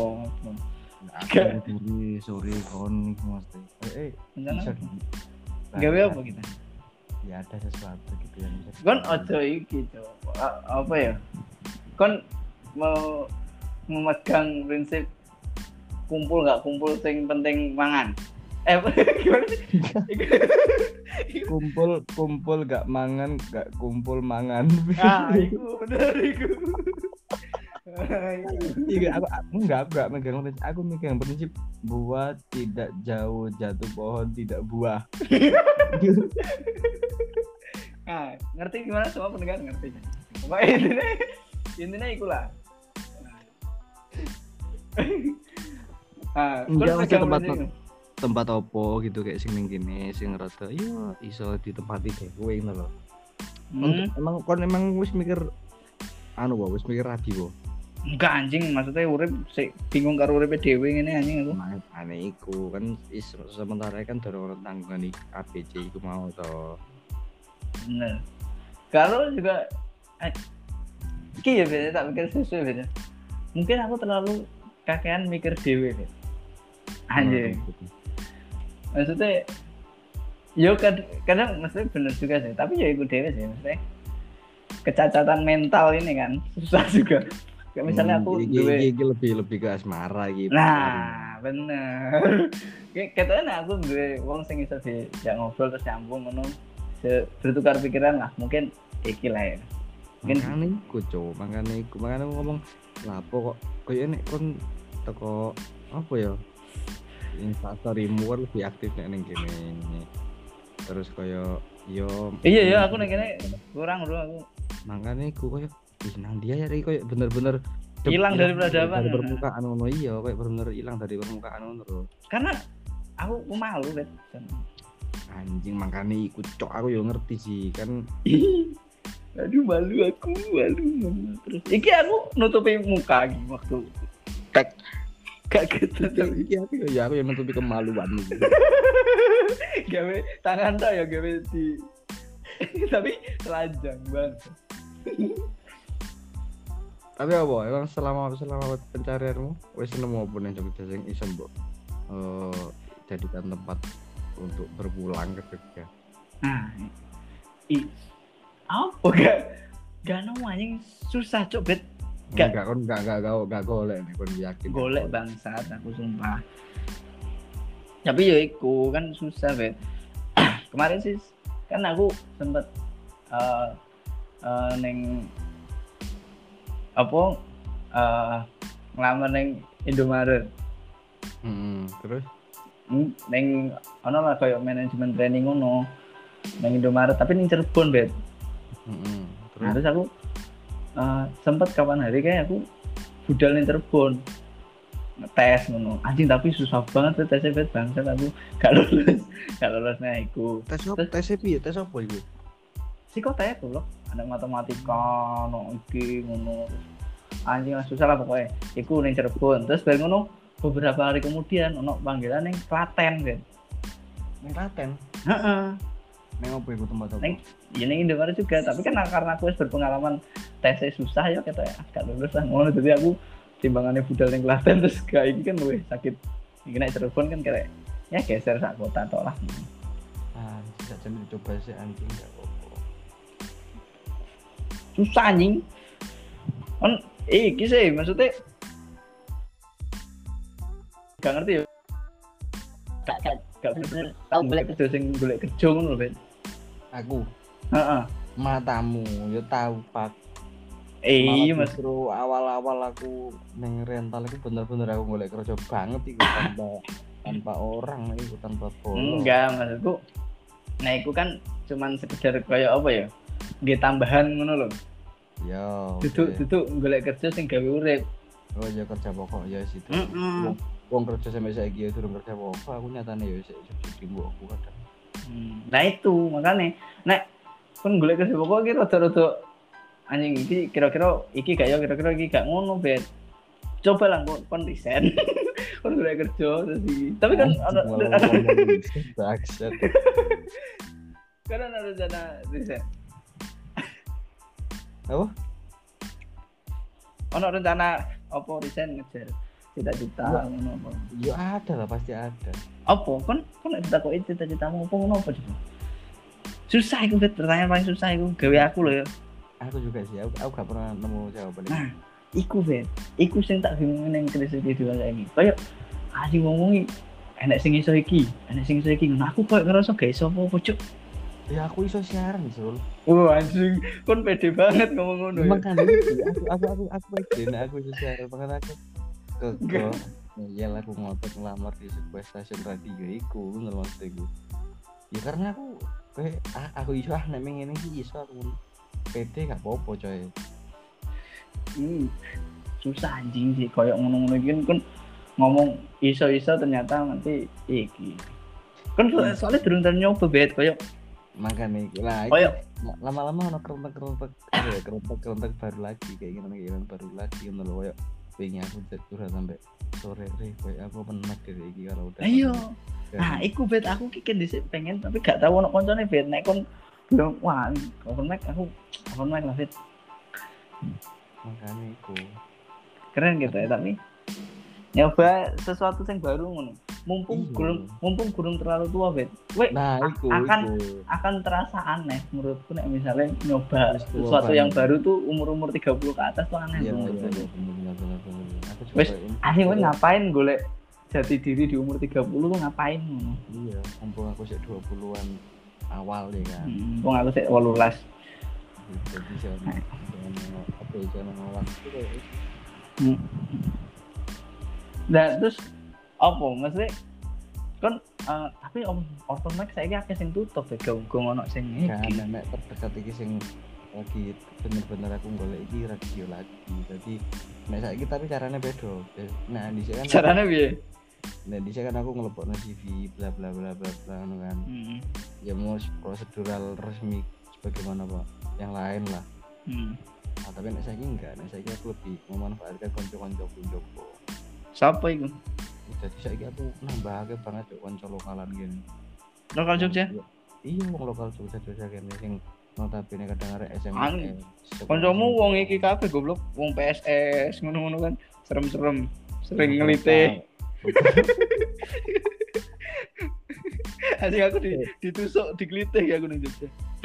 Dari sore kon mesti. Rencana gawe apa kita? Ya ada sesuatu gitu yang bisa. Kon ojo iki apa ya? Kon mau memegang prinsip kumpul nggak kumpul sing penting mangan. Gimana sih? kumpul gak mangan, gak kumpul mangan. Iku bener iku. Iya, aku enggak megang prinsip. Aku megang prinsip buah tidak jauh jatuh pohon tidak buah. Ngerti gimana semua pendengar ngerti. Pokoknya Intinya iku lah. Enggak ada tempat opo gitu kayak sing ning kene sing rada yo iso ditempati kowe ngono lho. Emang wis mikir wis mikir rabi wo. Enggak anjing, maksudnya urip bingung karo uripe dhewe ngene anjing aku. Aneh iku kan sementara kan dorong tanggungan ABC iku mau to. Bener. Kalau juga iki ya beda tak mikir sesuai beda. Mungkin aku terlalu kakean mikir dhewe. Anjing. Maksudnya yo kadang maksudnya bener juga sih, tapi ya ikut dewe sih maksudnya kecacatan mental ini kan susah juga. Kayak misalnya aku iki lebih ke asmara gitu. Nah, bener. Kayak katanya aku duwe wong sing iso dijak ngobrol terus nyambung ngono. Bertukar pikiran lah, mungkin iki lah ya. Mungkin makane iku ngomong lapo kok koyo nek kon teko apa ya? Instastorymu kan lebih aktif ning kene. Terus koyo yo iya aku ning kene kurang bro aku. Makane iku koyo nang dia ya koyo bener-bener hilang dari peradaban. Dari permukaan ngono iya koyo bener-bener hilang dari permukaan ngono. Karena aku malu bet. Anjing makane iku cok aku yo ngerti sih kan. Aduh malu terus. Iki aku nutupi muka iki waktu gak gitu iki aku yang nutupi kemaluan gitu. Gawe tangan tak ya gawe di tapi telanjang banget. Tapi apa emang selama pencarianmu wis nemu apa ning Jogja sing iso mbok jadikan tempat untuk berpulang ke Jogja? Nah, apa gak nemu anjing susah cok bet. Gak golek nek kon yakin. Golek bangsat aku sumpah. Tapi ya iku kan susah bet. Kemarin sih kan aku sempet neng apa ngelamar neng Indomaret. Terus neng ono lah kayak manajemen training ngono neng Indomaret tapi ning Cirebon bet. Terus aku sempat kapan hari kayak aku budal ning Cirebon ngetes ngono anjing tapi susah banget tesnya bet bangsat aku gak lulus nah iku tes piye tes apa iku psikotes tuh loh ada matematika no iki ngono anjing lah susah lah pokoknya iku ning Cirebon terus bareng ngono beberapa hari kemudian ono panggilan ning Klaten bet ning Klaten neng apa iku tempat apa? Ya ning Indomaret juga, tapi kan karena aku berpengalaman tesnya susah ya kata ya gak lulus lah ngono jadi aku timbangannya budal ning Klaten terus gak iki kan luwih sakit. Iki nek Cirebon kan kayak ya geser sak kota tok lah. Bisa sambil coba sih anjing gak apa-apa. Susah anjing. Kan iki sih maksudnya gak ngerti ya. Gak bener. Tau golek kerja sing golek kerja ngono lho, Ben. Aku. Heeh. Matamu yo tahu Pak. Iya Mas. Justru awal-awal aku neng rental itu bener-bener aku golek kerja banget iku tanpa orang iku tanpa polo. Enggak maksudku. Nah iku kan cuman sekedar kayak apa ya? Nggih tambahan ngono lho. Yo. Duduk golek kerja sing gawe urip. Oh ya kerja pokok ya situ. Wong kerja sampai saiki ya durung kerja pokok aku nyatane ya isih subsidi mbokku kadang. Nah itu makanya nek kon golek kerja pokok iki rada-rada anjing iki kira-kira iki gak ya kira-kira iki gak ngono bet. Coba lah kon resign. Kon golek kerja terus iki. Tapi kan ada bangsat. Kan ada rencana resign. Apa? Ono rencana apa resign ngejar cita-cita ngono apa? Ya ada lah pasti ada. Apa? Kon ditakoki cita-citamu apa ngono apa coba? Susah iku bet pertanyaan paling susah iku gawe aku lho ya. Aku juga sih, aku gak pernah nemu jawaban. Nah, iku bet. Iku sing tak bingung ning krisis kedua saiki. Kayak anjing ngomongi enek sing iso iki, enek sing iso iki. Nah, aku koyo ngerasa gak iso apa-apa, Cuk. Ya aku iso siaran, Sul. Anjing, kon pede banget ngomong ngono. Makanya aku pede nek aku iso siaran banget aku. Kok ya aku ngotot ngelamar di sebuah stasiun radio iku ngono maksudku. Ya karena aku iso nek ngene iki iso aku pede gak apa-apa coy. Susah anjing sih koyo ngono-ngono iki kan ngomong iso-iso ternyata nanti iki. Kan soalnya durung nyoba bet koyo makane lah koyo lama-lama ono kerentek baru lagi kayak gini baru lagi ngono lho koyo wingi aku curhat sampai sore koyo aku penak dhewe iki kalau udah. Ayo. Nah, iku bet aku ki dhisik pengen tapi gak tau ono koncone bet nek kon bilang wah, open mic lah bet. Makane iku. Keren gitu ya tapi nyoba sesuatu yang baru ngono. Mumpung gurung terlalu tua bet. Nah, akan terasa aneh menurutku nek misalnya nyoba sesuatu yang baru tuh umur 30 ke atas tuh aneh. Iya, bener. Wes, asing ngapain golek jati diri di umur 30 tuh ngapain ngono. Iya, mumpung aku sik 20-an awal ya kan. Mumpung aku sik 18. Jadi jangan ngawak itu kayak Nah, terus apa maksudnya kan tapi open mic saiki akeh sing tutup ya gong ono sing iki. Kan nek terdekat iki sing lagi bener-bener aku golek iki radio lagi. Jadi nek saiki tapi carane beda. Nah, dhisik kan carane piye? Nah, dhisik kan aku ngelebokno CV bla bla bla bla bla ngono kan. Ya mau prosedural resmi sebagaimana Pak yang lain lah. Nah, tapi nek saiki enggak, nek saiki aku lebih memanfaatkan kanca-kancaku njoko. Siapa itu? Jadi saiki aku nambahake banget kanca lokalan gini. Lokal Jogja? Iya, wong lokal Jogja kene sing notabene kadang arek SMA. Kancamu wong iki kabeh goblok, wong PSS ngono-ngono kan. Serem-serem, sering ngelite. Asik aku ditusuk, diglitih ya aku nang Jogja.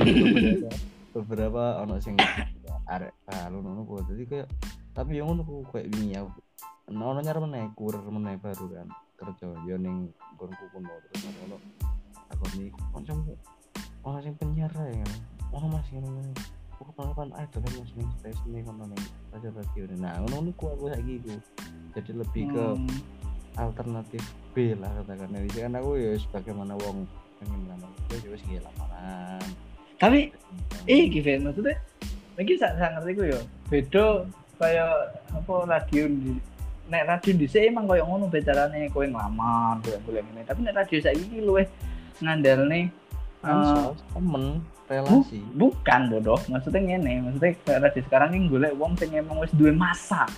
Beberapa ono sing arek ngono kok. Jadi kayak tapi yang ngono kok kayak wingi ya. Ono nyar meneh baru kan kerja yo ning nggonku kuno terus ono aku nih kancamu ono sing penyiar ya kan. Ono Mas ngene. Kok kapan idol Mas ning station ning ono ning radio. Nah, ngono ku aku saiki iku. Jadi lebih ke alternatif B lah katakan. Jadi kan aku ya sebagaimana wong pengen lamaran itu wis nggih lamaran. Tapi iki Ben maksudnya iki sak ngerti ku yo. Beda kaya apa radio nek radio dhisik emang koyo ngono becarane kowe nglamar golek ngene. Tapi nek radio saiki iki luwih ngandalne temen relasi. Bukan bodoh, maksudnya ngene, maksudnya radio sekarang iki golek wong sing emang wis duwe masa.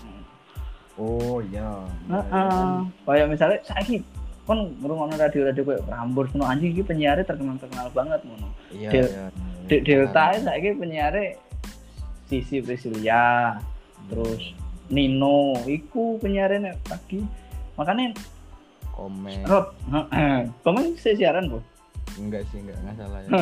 Oh iya. Kayak misalnya saiki kon ngrungokno radio-radio koyo Prambors ngono anjing iki penyiare terkenal banget ngono. Iya. Delta saiki penyiare Sisi Priscilia. Terus Nino iku penyiaran pagi. Makanya komen. Komen siaran, Bu. Enggak salah ya.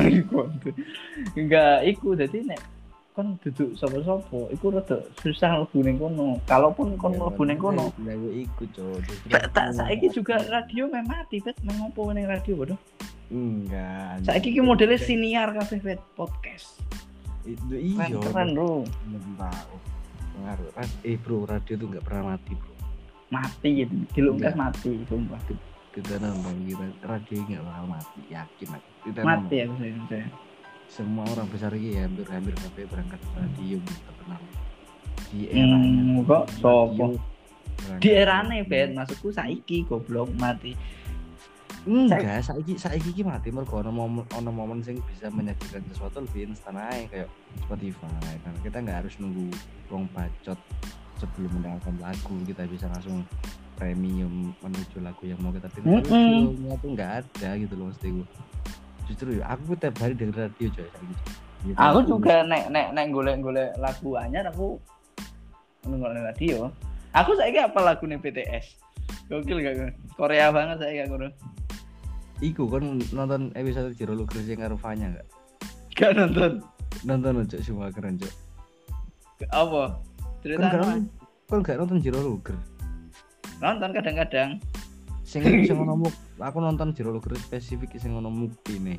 Enggak iku dadi nek kon duduk sapa-sapa iku rada susah mlebu ning kono. Kalaupun kon mlebu ning kono. Lah yo iku, Cuk. Tak saiki juga radio mati, Bet. Mengopo ning radio, bodoh? Enggak. Saiki ki modele siniar kabeh, Bet, podcast. Itu iya. Keren, Bro. Tahu. Pengaruh. Bro, radio tuh enggak pernah mati, Bro. Mati gitu. Dilungkas mati, sumpah. Kita nonton radio enggak bakal mati, yakin aku. Mati ya saya. Semua orang besar ini hampir kabeh berangkat radio terkenal. Di eranya kok sopo? Di erane Ben, maksudku saiki goblok mati. Enggak, saiki iki mati mergo ono momen sing bisa menyajikan sesuatu lebih instan ae kayak Spotify. Kan kita enggak harus nunggu wong bacot sebelum mendengarkan lagu, kita bisa langsung premium menuju lagu yang mau kita pilih. Itu enggak ada gitu loh maksudku. Justru aku tiap hari denger radio coy saiki. Gitu. Aku juga nek golek lagu anyar aku nonton radio. Aku saiki apa lagu nih BTS. Gokil gak? Korea banget saiki aku. Iku kan nonton episode Jero Luger sing karo Fanya enggak? Gak nonton. Nonton Cuk, semua keren Cuk. Apa? Cerita Kan enggak nonton Jero Luger. Nonton kadang-kadang. Sing ngono aku nonton Jero Luger spesifik sing ngono Mukti nih.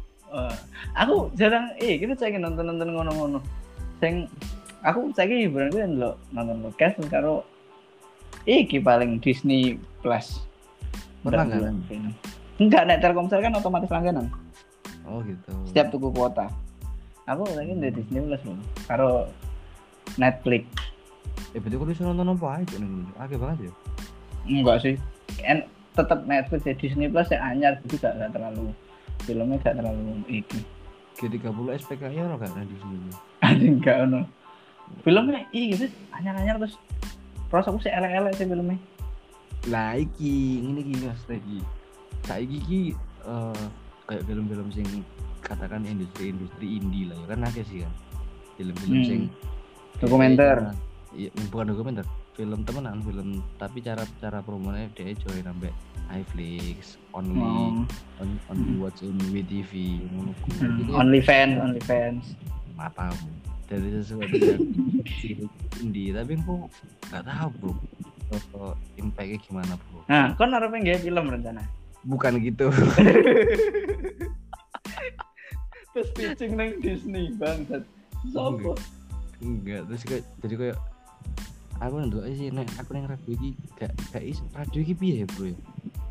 Aku jarang kita saiki nonton ngono-ngono. Sing aku saiki hiburan kuwi lho nonton podcast karo iki paling Disney Plus. Berlangganan. Enggak, nek Telkomsel kan otomatis langganan. Oh gitu. Setiap tuku kuota. Aku lagi di Disney Plus loh. Karo Netflix. Berarti aku bisa nonton apa aja nih? Oke banget ya. Enggak sih. Tetap Netflix ya, Disney Plus ya anyar juga gak terlalu filmnya gak terlalu iki. G30 SPKI orang gak ada di sini. Enggak ono. Filmnya gitu anyar-anyar terus aku sih elek-elek sih filmnya. Lah ini Mas lagi. Saiki iki kayak film-film sing katakan industri indie lah ya kan akeh sih kan. Film-film sing dokumenter. Iya, bukan dokumenter. Film temenan, film tapi cara promonya dia join sampai iFlix, only watch in WTV, OnlyFans. Matamu. Dari sesuatu yang indie, tapi aku nggak tahu bro, impactnya gimana bro. Nah, kan harapnya nggak film rencana? Bukan gitu. Terus pitching nang Disney bangsat. Sopo? Enggak, terus kayak jadi kayak aku nonton sih nek aku nang radio iki gak radio iki piye bro ya?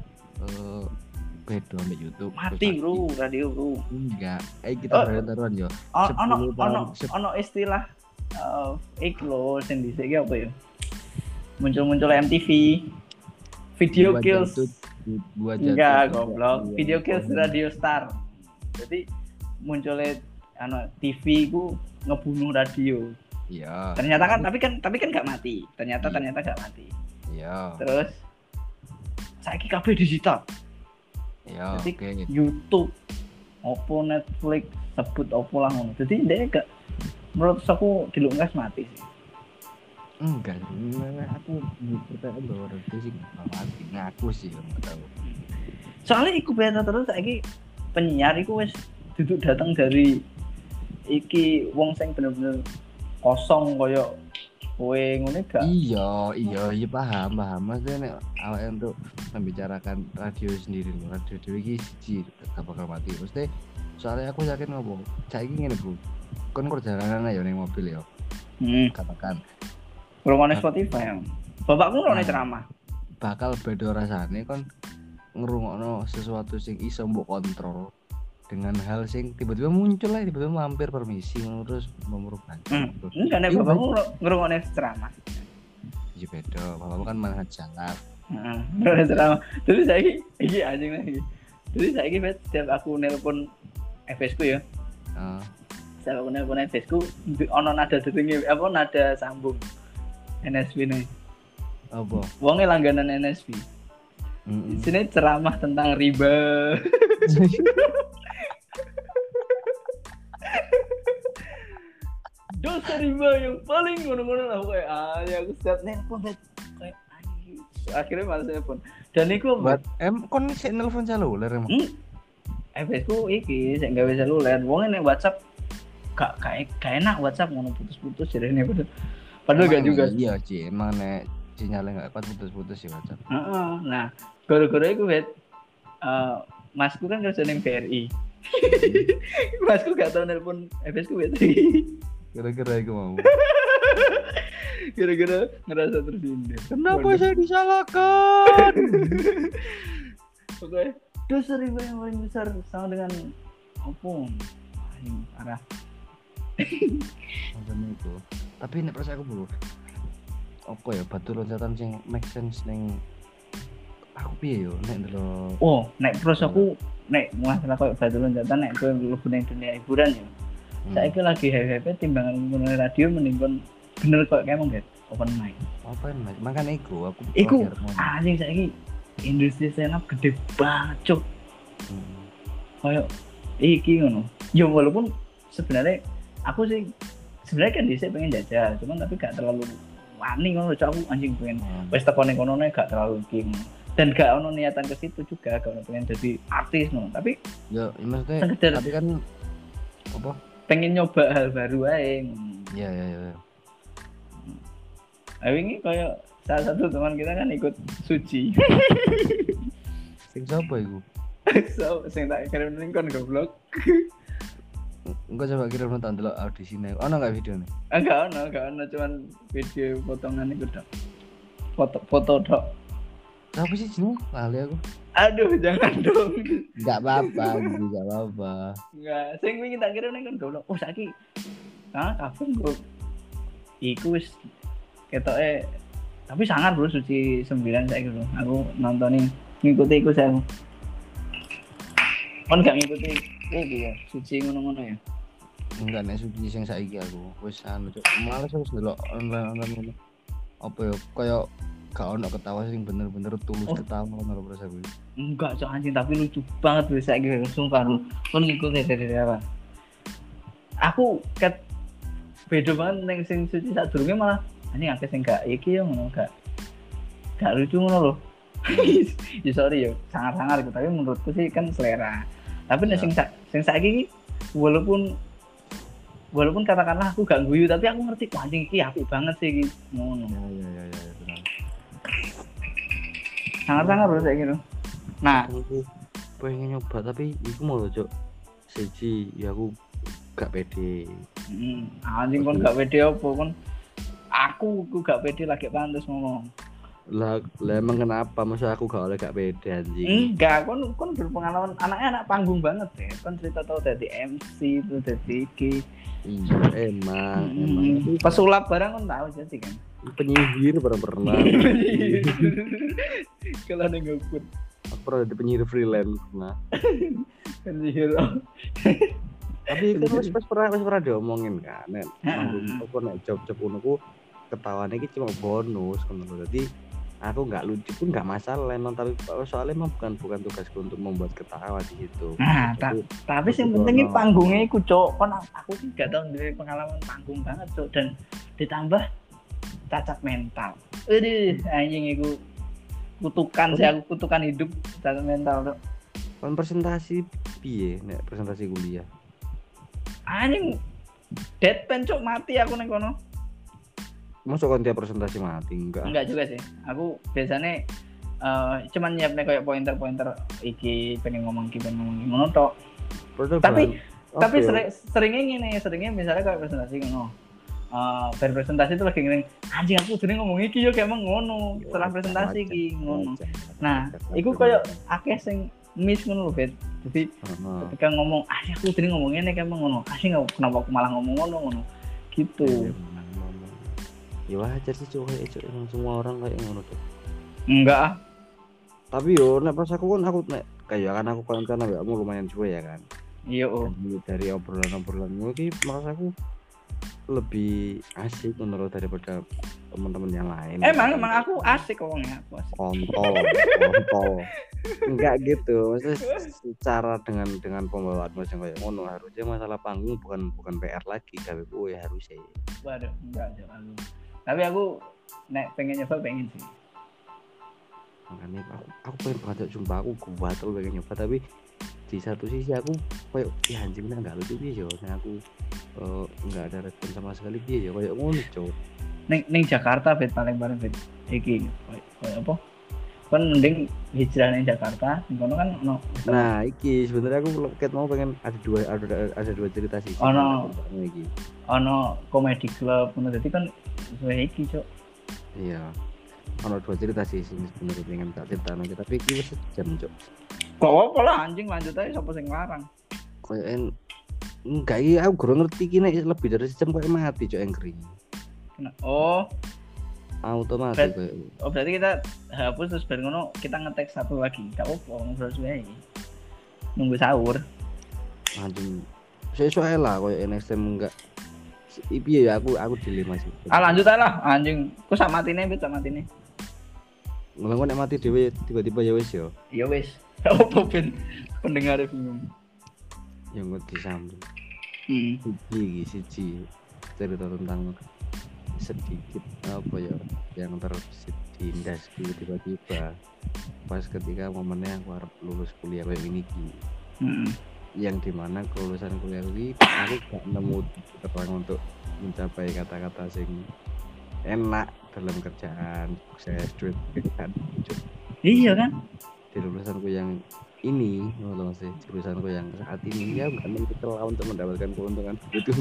Beda ambek YouTube. Mati bro, radio bro. Enggak, kita taruhan yo. Ono istilah iklo sing dhisik apa ya? Muncul MTV. Video Kills. Enggak, goblok. Video Kills Radio Star. Jadi munculnya TV ku ngebunuh radio. Iya. Ternyata kan tapi kan enggak mati. Ternyata enggak mati. Iya. Terus saiki kabeh digital. Iya, jadi okay. YouTube, Oppo, Netflix, sebut Oppo lah ngono. Jadi dia gak, menurut aku dilungkas mati sih. Enggak, aku percaya bahwa radio sih gak mati. Ngaku sih, gak tahu. Soalnya iku beta terus saiki penyiar iku wis duduk datang dari iki wong sing bener-bener kosong koyo kowe ngene gak? Iya paham. Maksudnya nek awake untuk membicarakan radio sendiri loh. Radio iki siji gak bakal mati. Mesti soalnya aku yakin ngopo. Saiki ngene, Bro. Kon perjalanan ya ning mobil ya. Katakan ngrungokne Spotify ya. Bapakku ngrungokne ceramah. Bakal beda rasane kon ngrungokno sesuatu sing iso mbok kontrol dengan hal sing tiba-tiba muncul lah, tiba-tiba mampir permisi terus memerlukan. Enggak nek bapakmu ngrungokne ceramah. Iya beda, bapakmu kan malah jalan. Ngrungokne ceramah. Terus saiki iki anjing lagi. Terus saiki setiap aku nelpon FS ku ya. Setiap aku nelpon FS ku ono nada detenge apa nada sambung NSB nih. Apa? Wonge langganan NSB. Di sini ceramah tentang riba. Dosa riba yang paling ngono-ngono lah kayak aku setiap nelpon kayak akhirnya malas nelpon. Dan iku buat kon sik nelpon seluler emang. FS ku iki sik gawe seluler. Wong nek WhatsApp gak enak WhatsApp ngono putus-putus jarene padahal gak juga. Iya, Ci, emang nek sinyalnya gak kuat putus-putus ya WhatsApp. Nah, gara-gara iku masku kan kerja ning BRI. Masku gak tau nelpon FS ku Kira-kira aku mau. Kira-kira ngerasa tersindir. Kenapa saya disalahkan? Oke. Dosa riba yang paling besar sama dengan apa? Arah. Macam itu. Tapi nek percaya aku bro. Apa ya batu loncatan sing make sense ning aku piye yo nek ndelok. Oh, nek pros aku nek masalah koyo batu loncatan nek kowe mlebu ning dunia hiburan ya. Saiki lagi hehe timbangan ngene radio mending kon bener kok kayak monggo open mic. Makane iku aku anjing saiki industri stand up gede banget cuk. Kayak iki ngono. Ya walaupun sebenarnya aku sih sebenarnya kan dhisik pengen jajal, cuman tapi gak terlalu wani ngono cuk aku anjing pengen wis teko ning kono gak terlalu iki. Dan gak ono niatan ke situ juga gak ono pengen jadi artis ngono. Tapi ya maksudnya tapi kan apa? Pengen nyoba hal baru aja. Iya. Ini kayak salah satu teman kita kan ikut suci. Sing siapa itu? Sing tak kirim link kon goblok. Enggak coba kirim nonton dulu audisinya. Ono enggak videonya? Enggak ono, cuman video potongan itu dok. Foto dok. Siapa sih jenenge? Lali aku. Aduh, jangan dong. Enggak apa-apa. Enggak, sing wingi tak kirim ning kon goblok. Oh, saiki. Kafe gue. Iku wis ketoke tapi sangar bro Suci 9 saiki lho. Aku nontonin ngikuti iku saya. Kon gak ngikuti iki ya, Suci ngono-ngono ya. Enggak nek Suci sing saiki aku wis anu cuk. Males wis ndelok online ngono. Apa ya kaya gak ono ketawa sing bener-bener tulus ketawa ngono lho aku. Enggak cok anjing tapi lucu banget wis saiki sumpah lu. Kon ngikuti dari apa? Aku ket beda banget ning sing Suci sadurunge malah anjing akeh sing gak iki yo ngono gak lucu ngono lho. Ya sorry yo, sangar-sangar gitu tapi menurutku sih kan selera. Tapi nek sing saiki walaupun katakanlah aku gak guyu tapi aku ngerti wah anjing iki apik banget sih iki ngono. Ya benar. Sangar-sangar bro saiki lho. Nah, aku pengen nyoba tapi iku mau lho cuk. Siji ya aku gak pede. Anjing kon gak pede opo kon? Aku gak pede lagi pantes ngomong. Lah emang kenapa masa aku gak oleh gak pede anjing? Enggak, kon berpengalaman anaknya anak panggung banget ya. Kon cerita tau dari MC itu dari iki. Iya emang. Pesulap barang kon tahu jadi kan. Penyihir pernah. Kalau ada ngikut. Aku pernah jadi penyihir freelance pernah. Penyihir. Tapi kan wis pernah diomongin kan. Nek aku nek job ngono ku ketawane iki cuma bonus ngono lho. Jadi aku nggak lucu pun nggak masalah emang tapi soalnya emang bukan tugasku untuk membuat ketawa di situ. Nah, tapi yang penting ini panggungnya iku cok. Kon aku sih gak tau dari pengalaman panggung banget cok dan ditambah cacat mental. Anjing iku kutukan sih aku kutukan hidup cacat mental cok. Kon presentasi piye nek presentasi kuliah? Anjing deadpan cok mati aku neng kono. Masuk kan tiap presentasi mati enggak juga sih aku biasanya cuman nyiapnya kayak pointer iki pengen ngomong ngono tok tapi seringnya misalnya kayak presentasi ngono presentasi itu lagi ngene anjing aku sering ngomong iki yo kayak ngono setelah presentasi iki ngono nah iku kayak akeh sing miss ngono lho bet jadi ketika ngomong aku sering ngomong ngene kayak ngono kenapa aku malah ngomong ngono gitu. Ya wajar sih cowok emang semua orang kayak ngono tuh. Enggak. Tapi yo nek pas aku nek kayak kan aku konten ya kamu lumayan cuek ya kan. Iya dari obrolan iki merasa aku lebih asik menurut daripada teman-teman yang lain. Emang aku asik orangnya, aku asik. Kontol. Enggak gitu. Maksudnya secara dengan pembawaan macam kayak ngono harusnya masalah panggung bukan PR lagi tapi gue harusnya. Waduh, enggak aku. Tapi aku pengen nyoba pengen sih. Makanya aku pengen banget jumpa aku batal pengen nyoba tapi di satu sisi aku kayak ya anjingnya enggak lucu piye yo. Nah aku enggak ada respon sama sekali piye yo kayak ngono cowok. Ning Jakarta bet paling bet iki kayak apa? Kan mending hijrah ning Jakarta, ngono kan ono. Nah, iki sebenarnya aku mau pengen ada dua cerita sih. Ono comedy club ngono dadi kan iki cok. Iya. Ono dua cerita sih sebenarnya pengen tak cerita nanti tapi iki wis jam cok. Kok apa lah anjing lanjut aja sapa sing larang. Kayak enggak iki aku kurang ngerti iki nek lebih dari sejam kayak mati cok angry. Otomatis berarti kita hapus terus baru ngono kita ngetek satu lagi. Enggak apa-apa ngobrol suwe. Nunggu sahur. Anjing. Sesuai lah koyo NXT enggak. Piye ya aku dilema sih. Lanjut aja lah anjing. Ku sak matine bet sak matine. Ngono nek mati dhewe tiba-tiba ya wis yo. Ya wis. Opo ben pendengar bingung. Yang ngerti sambung. Siji cerita tentang sedikit apa ya yang terbesit di industri tiba-tiba pas ketika momennya aku harus lulus kuliah kayak ini yang dimana kelulusan kuliah ini aku gak nemu terang untuk mencapai kata-kata sing enak dalam kerjaan saya duit kan iya kan di lulusanku yang ini loh sih jurusanku yang saat ini ya gak menentukan untuk mendapatkan keuntungan itu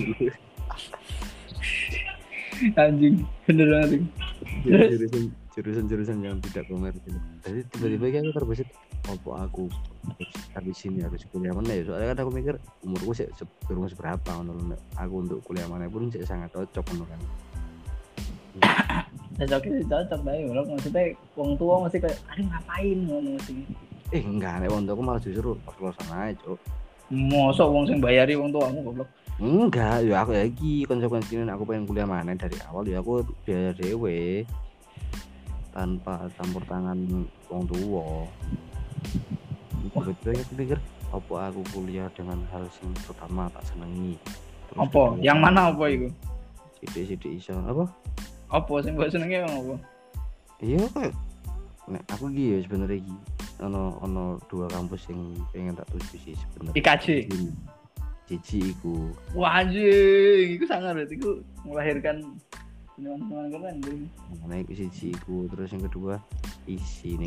anjing bener banget jurusan yang tidak komersil jadi tiba-tiba aku terbesit aku habis sini harus kuliah mana ya soalnya kan aku mikir umurku sih belum seberapa menurut aku untuk kuliah mana pun sih sangat cocok menurut kan cocok bae lho, maksudnya wong tua masih kayak aduh ngapain ngono sih. Enggak, nek wong tuaku malah justru pas-pasan ae, Cuk. Mosok wong sing bayari wong tuamu goblok. Enggak, ya aku ya iki konsekuensinya aku pengen kuliah mana dari awal ya aku biaya dewe tanpa campur tangan wong tua. Betul ya aku pikir apa aku kuliah dengan hal yang pertama tak senengi. Terus Apa? Yang mana apa iku? Sidik-sidik iso apa? Apa sing mbok senenge apa? Iya kayak nek aku iki ya sebenarnya iki ono dua kampus yang pengen tak tuju sih sebenarnya. IKJ. Cici iku. Wah anjing, iku sangat berarti iku melahirkan seniman-seniman keren dulu. Nah, iku siji iku, terus yang kedua isi.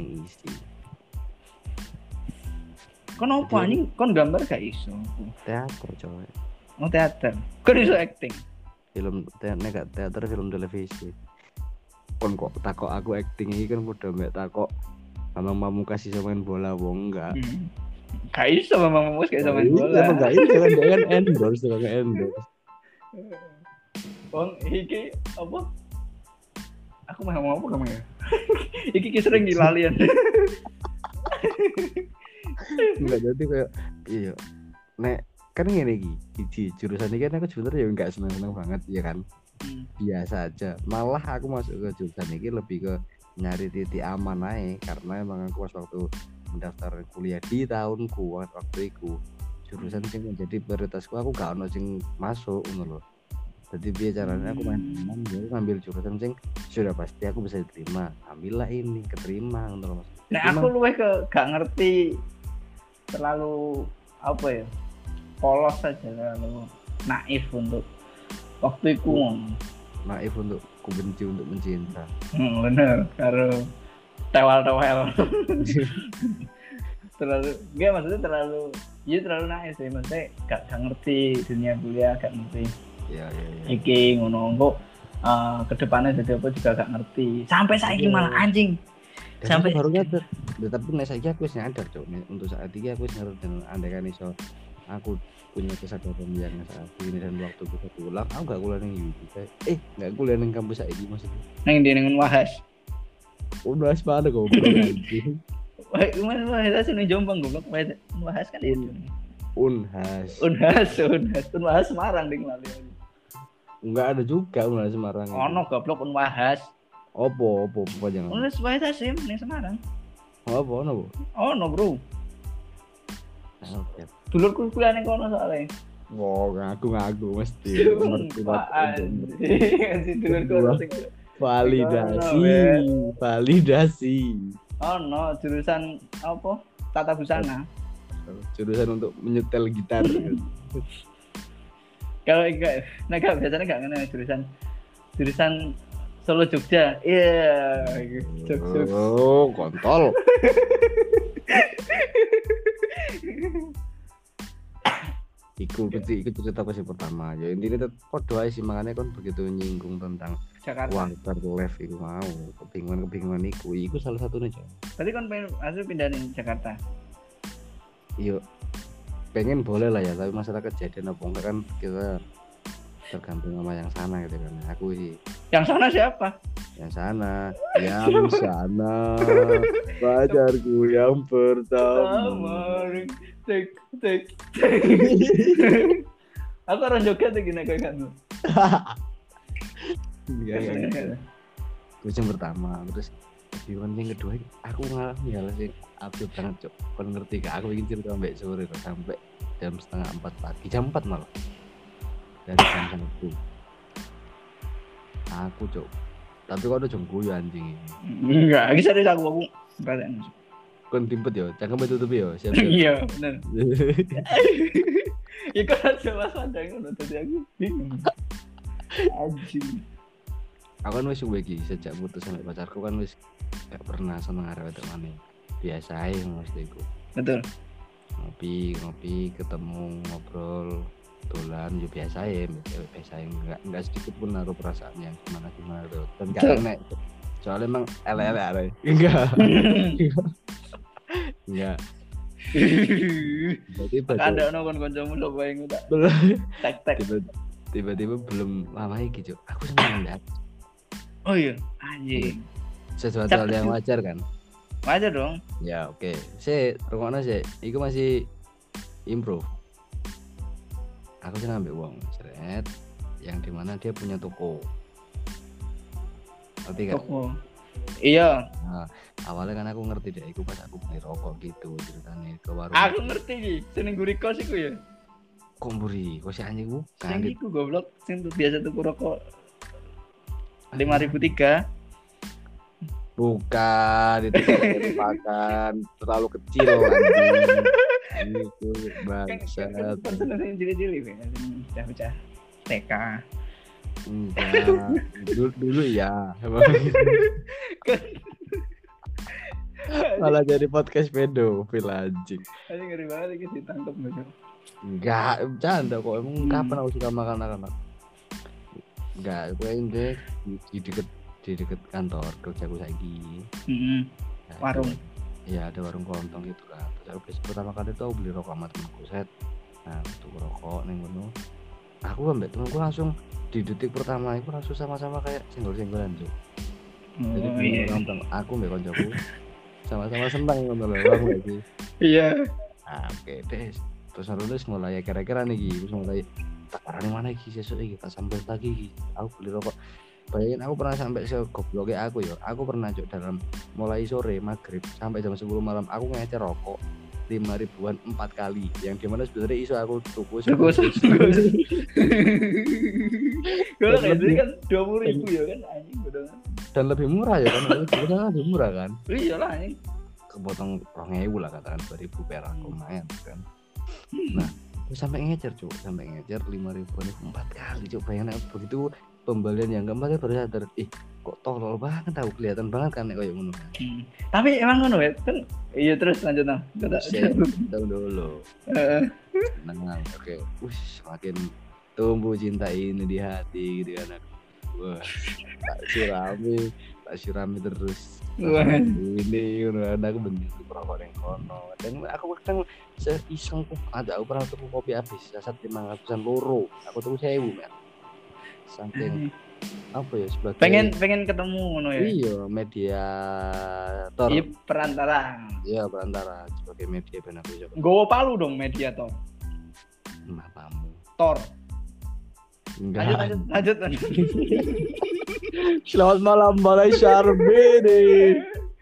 Kon opo anjing? Kon gambar gak iso. Teater coy. Oh teater. Kon iso acting. Film teater film televisi. Kon kok takok aku acting iki kan padha mek takok Bambang Pamungkas iso main bola wong enggak. Gak iso Bambang Pamungkas gak iso main bola. Iya, enggak iso kan endorse. Wong iki apa? Aku mau ngomong apa kamu ya? Iki sering dilalian. Enggak jadi kayak iya. Nek kan ngene iki jurusan ini kan aku sebenarnya ya enggak seneng banget ya kan. Biasa aja. Malah aku masuk ke jurusan ini lebih ke nyari titik aman aja karena emang aku pas waktu mendaftar kuliah di tahunku waktu itu jurusan sing menjadi prioritasku aku gak ono sing masuk ngono lho. Jadi biar caranya aku main aman jadi ngambil jurusan sing sudah pasti aku bisa diterima. Ambillah ini keterima ngono lho. Nah, aku luwih ke gak ngerti terlalu apa ya? Polos saja terlalu naif untuk waktu itu. Naif untuk ku benci untuk mencinta. Bener, karo tewal-tewel. Maksudnya terlalu naif sih, maksudnya gak ngerti dunia kuliah, gak ngerti. Iya. Iki ngono kok kedepannya jadi apa juga gak ngerti. Sampai saiki malah anjing. Sampai baru nyadar. Tapi nek saiki aku wis nyadar, Cuk. Untuk saat ini aku wis nyadar dan andaikan iso aku punya kesadaran yang saat ini dan waktu bisa pulang, aku gak kuliah ning UII. Gak kuliah ning kampus saiki maksudnya. Nang ndi ning Unhas. Unhas mana goblok anjing. Wah, Unhas ning Jombang goblok. Unhas kan itu. Unhas Semarang ding lali. Enggak ada juga Unhas Semarang. Ono goblok Unhas. Opo jangan. Unhas Sim ning Semarang. Apa ono, Bu? Ono, Bro. Oke. Dulurku kuliah ning kono soalnya. Wow, ngaku mesti. Si dulurku validasi. Oh no, jurusan apa? Tata busana. Jurusan untuk menyetel gitar. Kalau enggak, biasanya enggak ngene jurusan Solo Jogja. Iya, Jogja. Oh, kontol. Iku cerita aku sih pertama ya intinya podo aja sih makanya kan begitu nyinggung tentang Jakarta. Uang terlev iku mau kebingungan iku salah satunya coy. Berarti kan pengen asli pindah nih Jakarta. Iya pengen boleh lah ya tapi masalah kejadian apa enggak kan kita tergantung sama yang sana gitu kan aku sih. Yang sana siapa? Yang sana pacarku yang pertama. Tek. Aku orang Jogja tuh gini kayak kan. Iya. Terus yang pertama, terus yang kedua aku ngalamin hal sih absurd banget cok. Kau ngerti gak? Aku ingin cerita sampai sore sampai jam 3:30 pagi, jam 4 malah. Dari jam 1. Aku cok. Tapi kau udah jongku ya anjing ini. Enggak, lagi serius aku perasaan. Kon timpet ya, jangan tutup ya. Iya, benar. Ya kan coba sadar ngono tadi aku bingung. Anjing. Aku kan wis iki sejak putus sampai pacarku kan wis gak pernah seneng arek wedok maneh. Biasa ae mesti iku. Betul. Ngopi, ketemu, ngobrol, dolan yo biasa ae, enggak sedikit pun naruh perasaan yang gimana tuh. Dan gak enak. Soalnya emang elek-elek arek. Enggak. Ada ono kancamu lho bae ngono tak. Tek. Tiba-tiba belum lama iki, Cuk. Aku seneng banget. Oh iya, Anjing. Sesuatu hal yang wajar kan? Wajar dong. Ya oke. Rungokno sih. Iku masih improve. Aku sih ngambil uang seret yang dimana dia punya toko. Ngerti kan? Toko. Iya. Nah, awalnya kan aku ngerti deh, iku pas aku beli rokok gitu ceritanya ke warung. Aku ngerti iki, seneng guri kos iku ya. Kok mburi, kok si anjing ku? Sing iku goblok, sing biasa tuku rokok 5.003. Bukan, itu makan terlalu kecil anjing. Itu bangsat. Kan seneng cilik-cilik ya, pecah-pecah TK. Enggak, dulu ya. Malah jadi podcast pedofil anjing. Anjing ngeri banget iki ditangkap gitu. Enggak, bercanda kok. Emang kapan aku suka makan anak-anak? Enggak, gue ini di deket kantor kerjaku saiki. Warung. Iya, ada warung kelontong gitu kan. Terus aku pertama kali itu aku beli rokok sama temanku set. Nah, tuku rokok ning ngono. Aku ambek temanku langsung di detik pertama itu langsung sama-sama kayak senggol-senggolan tuh. Jadi iya. Aku mbek koncoku sama-sama senang ngono lho, paham gak sih? Iya. Nah, oke deh. Terus terus mulai kira-kira nih terus mulai tak arani mana iki sesuk iki tak sambil lagi iki. Aku beli rokok. Bayangin aku pernah sampai segobloknya aku ya. Aku pernah cuk dalam mulai sore maghrib sampai jam 10 malam aku ngecer rokok 5.000-an 4 kali. Yang dimana sebenarnya iso aku tuku. Kalau kayak kan 20.000 ya kan anjing bodongan. Dan lebih murah ya kan. Lebih murah kan. Iyalah anjing. Kepotong 2.000 lah katakan 2.000 perak lumayan kan. Nah, aku sampai ngecer 5.000 4 kali cuk. Bayangin begitu pembelian yang keempat baru sadar kok tolol banget aku kelihatan banget kan kayak ngono. Tapi emang ngono ya kan iya terus lanjut nah. Tahu dulu. Nah, oke. Semakin tumbuh cinta ini di hati gitu kan. Wah, tak sirami terus. Wah. Ini aku bener rokok yang kono. Dan aku kadang seiseng ada aku pernah tuku kopi habis sasat 500-an loro. Aku tuku 1.000 men. Saking apa ya sebagai pengen ketemu ngono ya. Iya, mediator. Iya, perantara. Iya, perantara sebagai media ben aku iso. Nggowo palu dong mediator. Mapamu. Tor. Enggak. Lanjut. Selamat malam Balai Syarbini.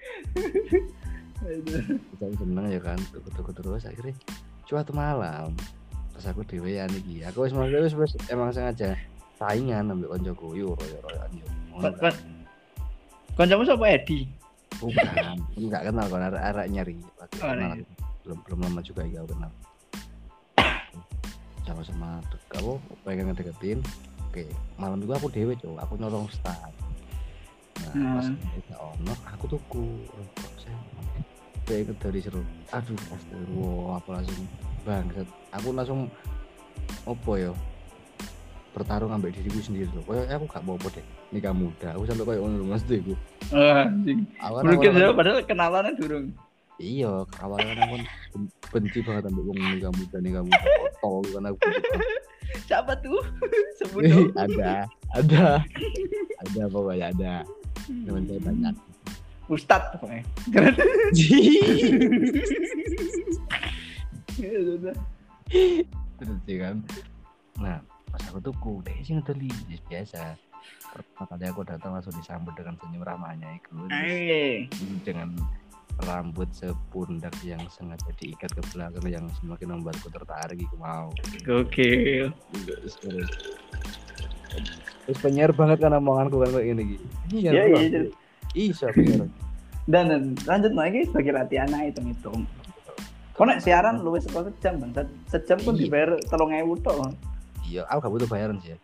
Kita seneng ya kan, tuku terus akhirnya suatu malam pas aku dhewean iki. Aku wis emang sengaja saingan ambil koncoku yo royo-royoan yo. Koncomu sapa Edi? Bukan, enggak kenal kan arek nyari. Kenal. Belum lama juga ya kenal. Sama-sama kamu pengen ngedeketin. Oke, malam itu aku dhewe, Cuk. Aku nyolong start. Nah, pas kita ono, aku tuku rokok saya. Kayak dari seru. Aduh, astagfirullah, apa langsung bangsat. Aku langsung opo yo? Bertarung ambil diriku sendiri loh. Kayak aku gak mau deh nikah muda. Aku sampai kayak ngono Mas Deku. Anjing. Mungkin saya padahal kenalannya durung. Iya, awalnya aku benci banget ambil wong nikah muda kotor kan aku benci banget. Siapa tuh? Sebut dong. Ada pokoknya ada. Teman saya banyak. Ustadz pokoknya. Terus kan. Nah, pas aku tuku deh sih ngedeli biasa. Pertama kali aku datang langsung disambut dengan senyum ramahnya itu. Dengan rambut sepundak yang sengaja diikat ke belakang yang semakin membuatku tertarik gitu mau. Gokil. Terus penyiar banget kan omonganku kan kayak gini gitu. Iya. Iya penyiar. Dan lanjut lagi sebagai latihan hitung-hitung. Kau nek siaran luwes sekolah sejam bang. Sejam pun dibayar 3.000 tok. Iya, aku gak butuh bayaran sih ya.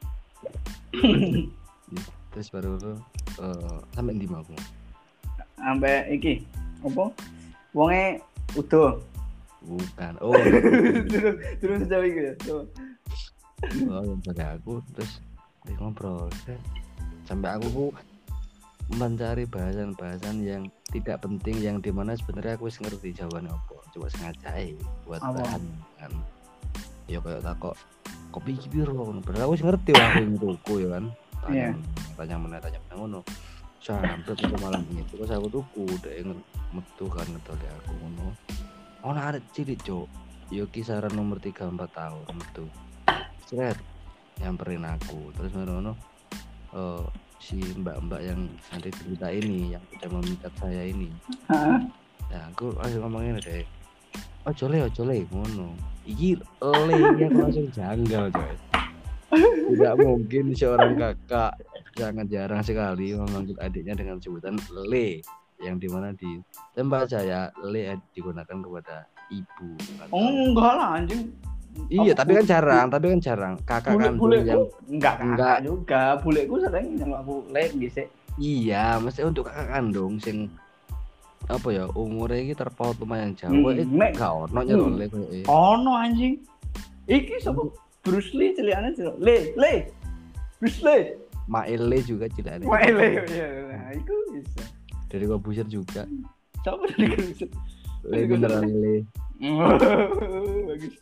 Terus baru sampai ndi mau aku. Sampai iki apa? Wonge udo. Bukan. Terus sejauh itu ya. Yang pada aku terus ngobrol sampai aku mencari bahasan-bahasan yang tidak penting yang dimana sebenarnya aku wis ngerti jawabannya apa. Coba sengaja buat bahan kan. Ya kayak takok kopi iki piro ngono. Padahal aku wis ngerti aku tuku ya kan. Tanya ngono. Sampai itu malam itu pas aku tuku dek metu kan ngedoli aku ngono. Ono arek cilik, Cuk. Yo kisaran umur 3-4 tahun metu. Sret nyamperin aku. Terus ngono si mbak-mbak yang nanti cerita ini yang sudah memikat saya ini. Ya aku langsung ngomongin deh. Ojo le ngono. Iki le aku langsung janggal, coy. Tidak mungkin seorang kakak sangat jarang sekali memanggil adiknya dengan sebutan le, yang dimana di tempat saya le digunakan kepada ibu. Enggak lah anjing. Iya, tapi kan jarang. Kakak kandung yang enggak juga. Buleku sering nyelok aku le gisik. Iya, mesti untuk kakak kandung sing apa ya umurnya ini terpaut lumayan jauh. Gak ono nyelok le koyo. Ono anjing. Iki sapa? Bruce Lee cilikane celok. Le. Bruce Lee. Maele juga cilikane. Maele ya. Nah, itu bisa. Dari Kobuser juga. Siapa dari Kobuser? Le beneran le. Bagus.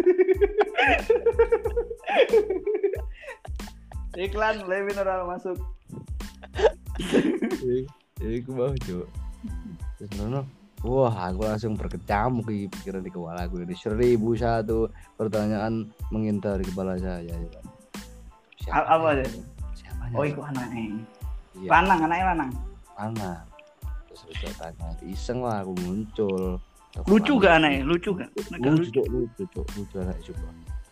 Iklan le mineral masuk. Aku mau Cuk. Terus nono. Wah, aku langsung berkecamuk di pikiran di kepala aku ini 1001 pertanyaan mengintai di kepala saya. Apa aja? Siapanya? Oh, itu anaknya. Iya. Anaknya lanang. Anak. Terus saya tanya, iseng lah aku muncul. Lucu gak anaknya? Lucu gak? Lucu anak juga.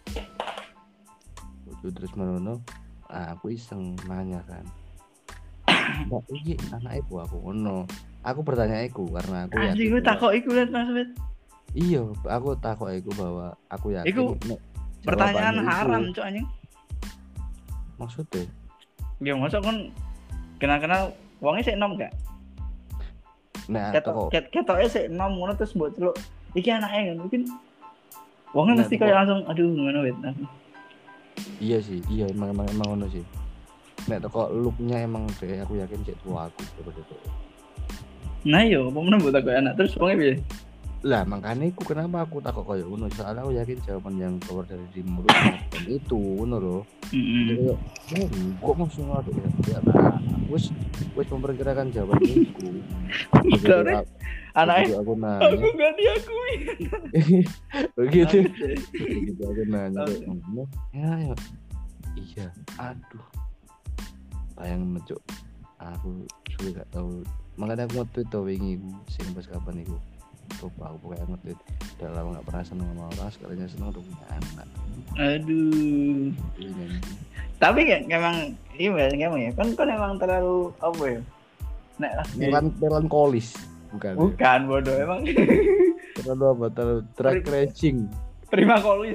Lucu terus merono. Aku iseng nanya kan. Mbak, ini anak ibu aku ngono. Aku bertanya iku karena aku yakin. Anjing lu takok iku lihat Mas Bet. Iya, aku takok iku bahwa aku yakin. Iku pertanyaan haram cok anjing. Maksudnya? Ya masa kan kenal-kenal wongnya sik enom gak? Nah, ketoknya sik enom ngono terus mbok celuk. Iki anake ngono mungkin wongnya mesti kayak langsung aduh ngono Bet. Iya sih, emang ngono sih. Nek toko look-nya emang deh aku yakin cek tua aku gitu. Nah yo, apa meneh mbok takok anak terus wongnya piye? Lah makanya kenapa aku takut koyo ngono, soalnya aku yakin jawaban yang keluar dari di mulut itu ngono lho. Heeh. Kok maksud ngono ya? Wis memperkirakan jawaban itu. Terus anaknya aku nanya. Aku enggak diakui. Begitu aku nanya. Ya. Iya. Aduh. Bayang mencuk. Aku sudah gak tahu. Makanya aku nge-tweet tuh wingi sing pas kapan iku. Lupa aku pokoknya nge-tweet. Udah lama gak pernah seneng sama orang, sekalinya seneng udah punya anak. Aduh. Tapi kan emang iya ya. Kan emang terlalu apa ya? Melankolis. Bukan bodoh emang. Terlalu apa? Terlalu track racing. Prima kolis.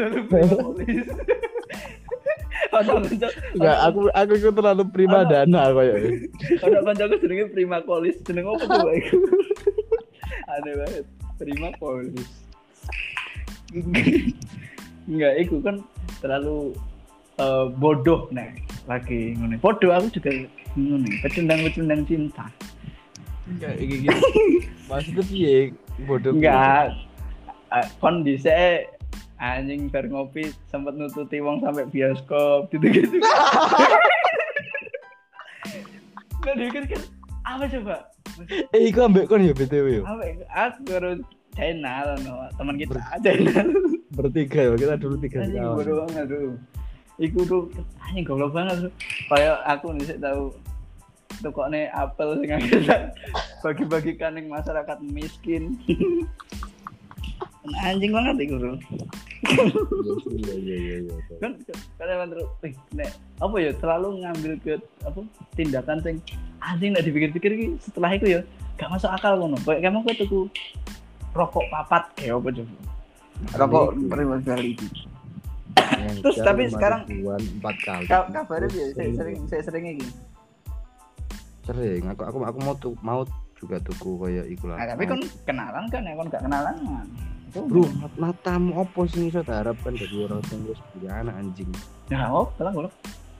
Enggak, aku itu terlalu prima dana koyo. Ada kancaku jenenge Prima Kolis, jeneng apa tuh iku? Aneh banget, Prima Kolis. Enggak, iku kan terlalu bodoh nek lagi ngene. Bodoh aku juga ngene, pecundang cinta. Enggak iki. Maksudnya piye bodoh? Enggak. Kondisi anjing bar ngopi sempat nututi wong sampai bioskop gitu-gitu. Nggak dikit-dikit apa coba? Iku ambek kon ya BTW yo. Aku baru channel teman kita channel. Bertiga ya, kita dulu 3 tahun. Anjing bodoh banget tuh. Iku tuh anjing goblok banget tuh. Kayak aku nih tahu tukokne apel sing akhirnya bagi-bagikan ning masyarakat miskin. Anjing banget iku tuh. Iya. Kan emang terus nek apa ya terlalu ngambil ke apa tindakan sing anjing nek dipikir-pikir iki setelah itu ya gak masuk akal ngono. Kayak kamu tuku rokok papat kayak apa coba? Rokok prima kali itu. Terus tapi sekarang 4 kali. Kabarnya dia sering iki. Sering. Aku mau juga tuku kayak iku lah. Nah, tapi kan kenalan kan ya kon gak kenalan. Bro, matamu opo sing iso diharapkan dari orang yang wis punya anak anjing. Ya, pelang.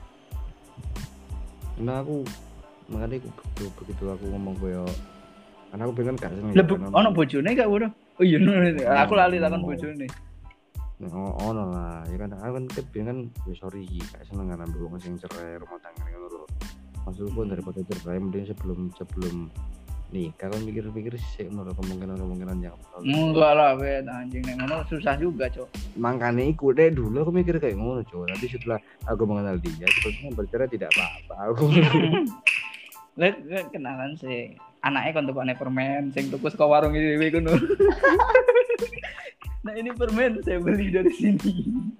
Nah aku makanya begitu aku ngomong koyo karena aku pengen gak seneng. Ono bojone gak bodoh? Oh iya, aku lali takon bojone. Nah, ono lah. Ya kan aku kan pengen wis sorry gak seneng kan ambek wong sing cerai rumah tangga ngono lho. maksudku daripada cerai mending sebelum nikah kan mikir-mikir sih menurut kemungkinan yang enggak lah bet anjing nek ngono susah juga cok. Makanya ikut deh dulu aku mikir kayak ngono cok, tapi setelah aku mengenal dia sepertinya bercerai tidak apa-apa aku. Lihat kenalan sih anaknya kan tukane permen sing tuku saka warung iki dhewe kono. Nah ini permen saya beli dari sini.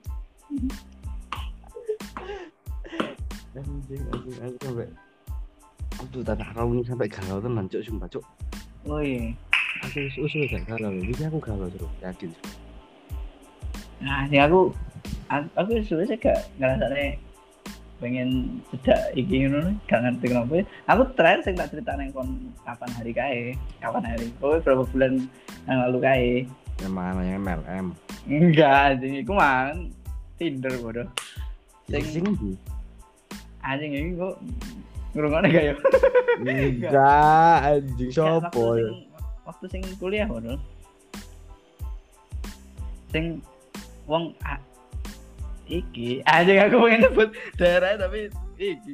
Anjing sampai aduh tanah kau ini sampai galau tenan cok sumpah cok. Oh iya. Aku usul gak galau ini aku galau terus yakin. Nah sih aku sebenarnya gak ngerasane pengen cedak iki ngono gak ngerti kenapa. Aku terakhir sing tak ceritain kon kapan hari berapa bulan yang lalu kae. Yang mana yang MLM? Enggak anjing iku man Tinder bodoh. Sing ndi? Anjing iki kok ngrungokne gak ya? Enggak, anjing sopo. Waktu sing kuliah bodoh. Sing wong iki anjing aku pengen nyebut daerah tapi iki.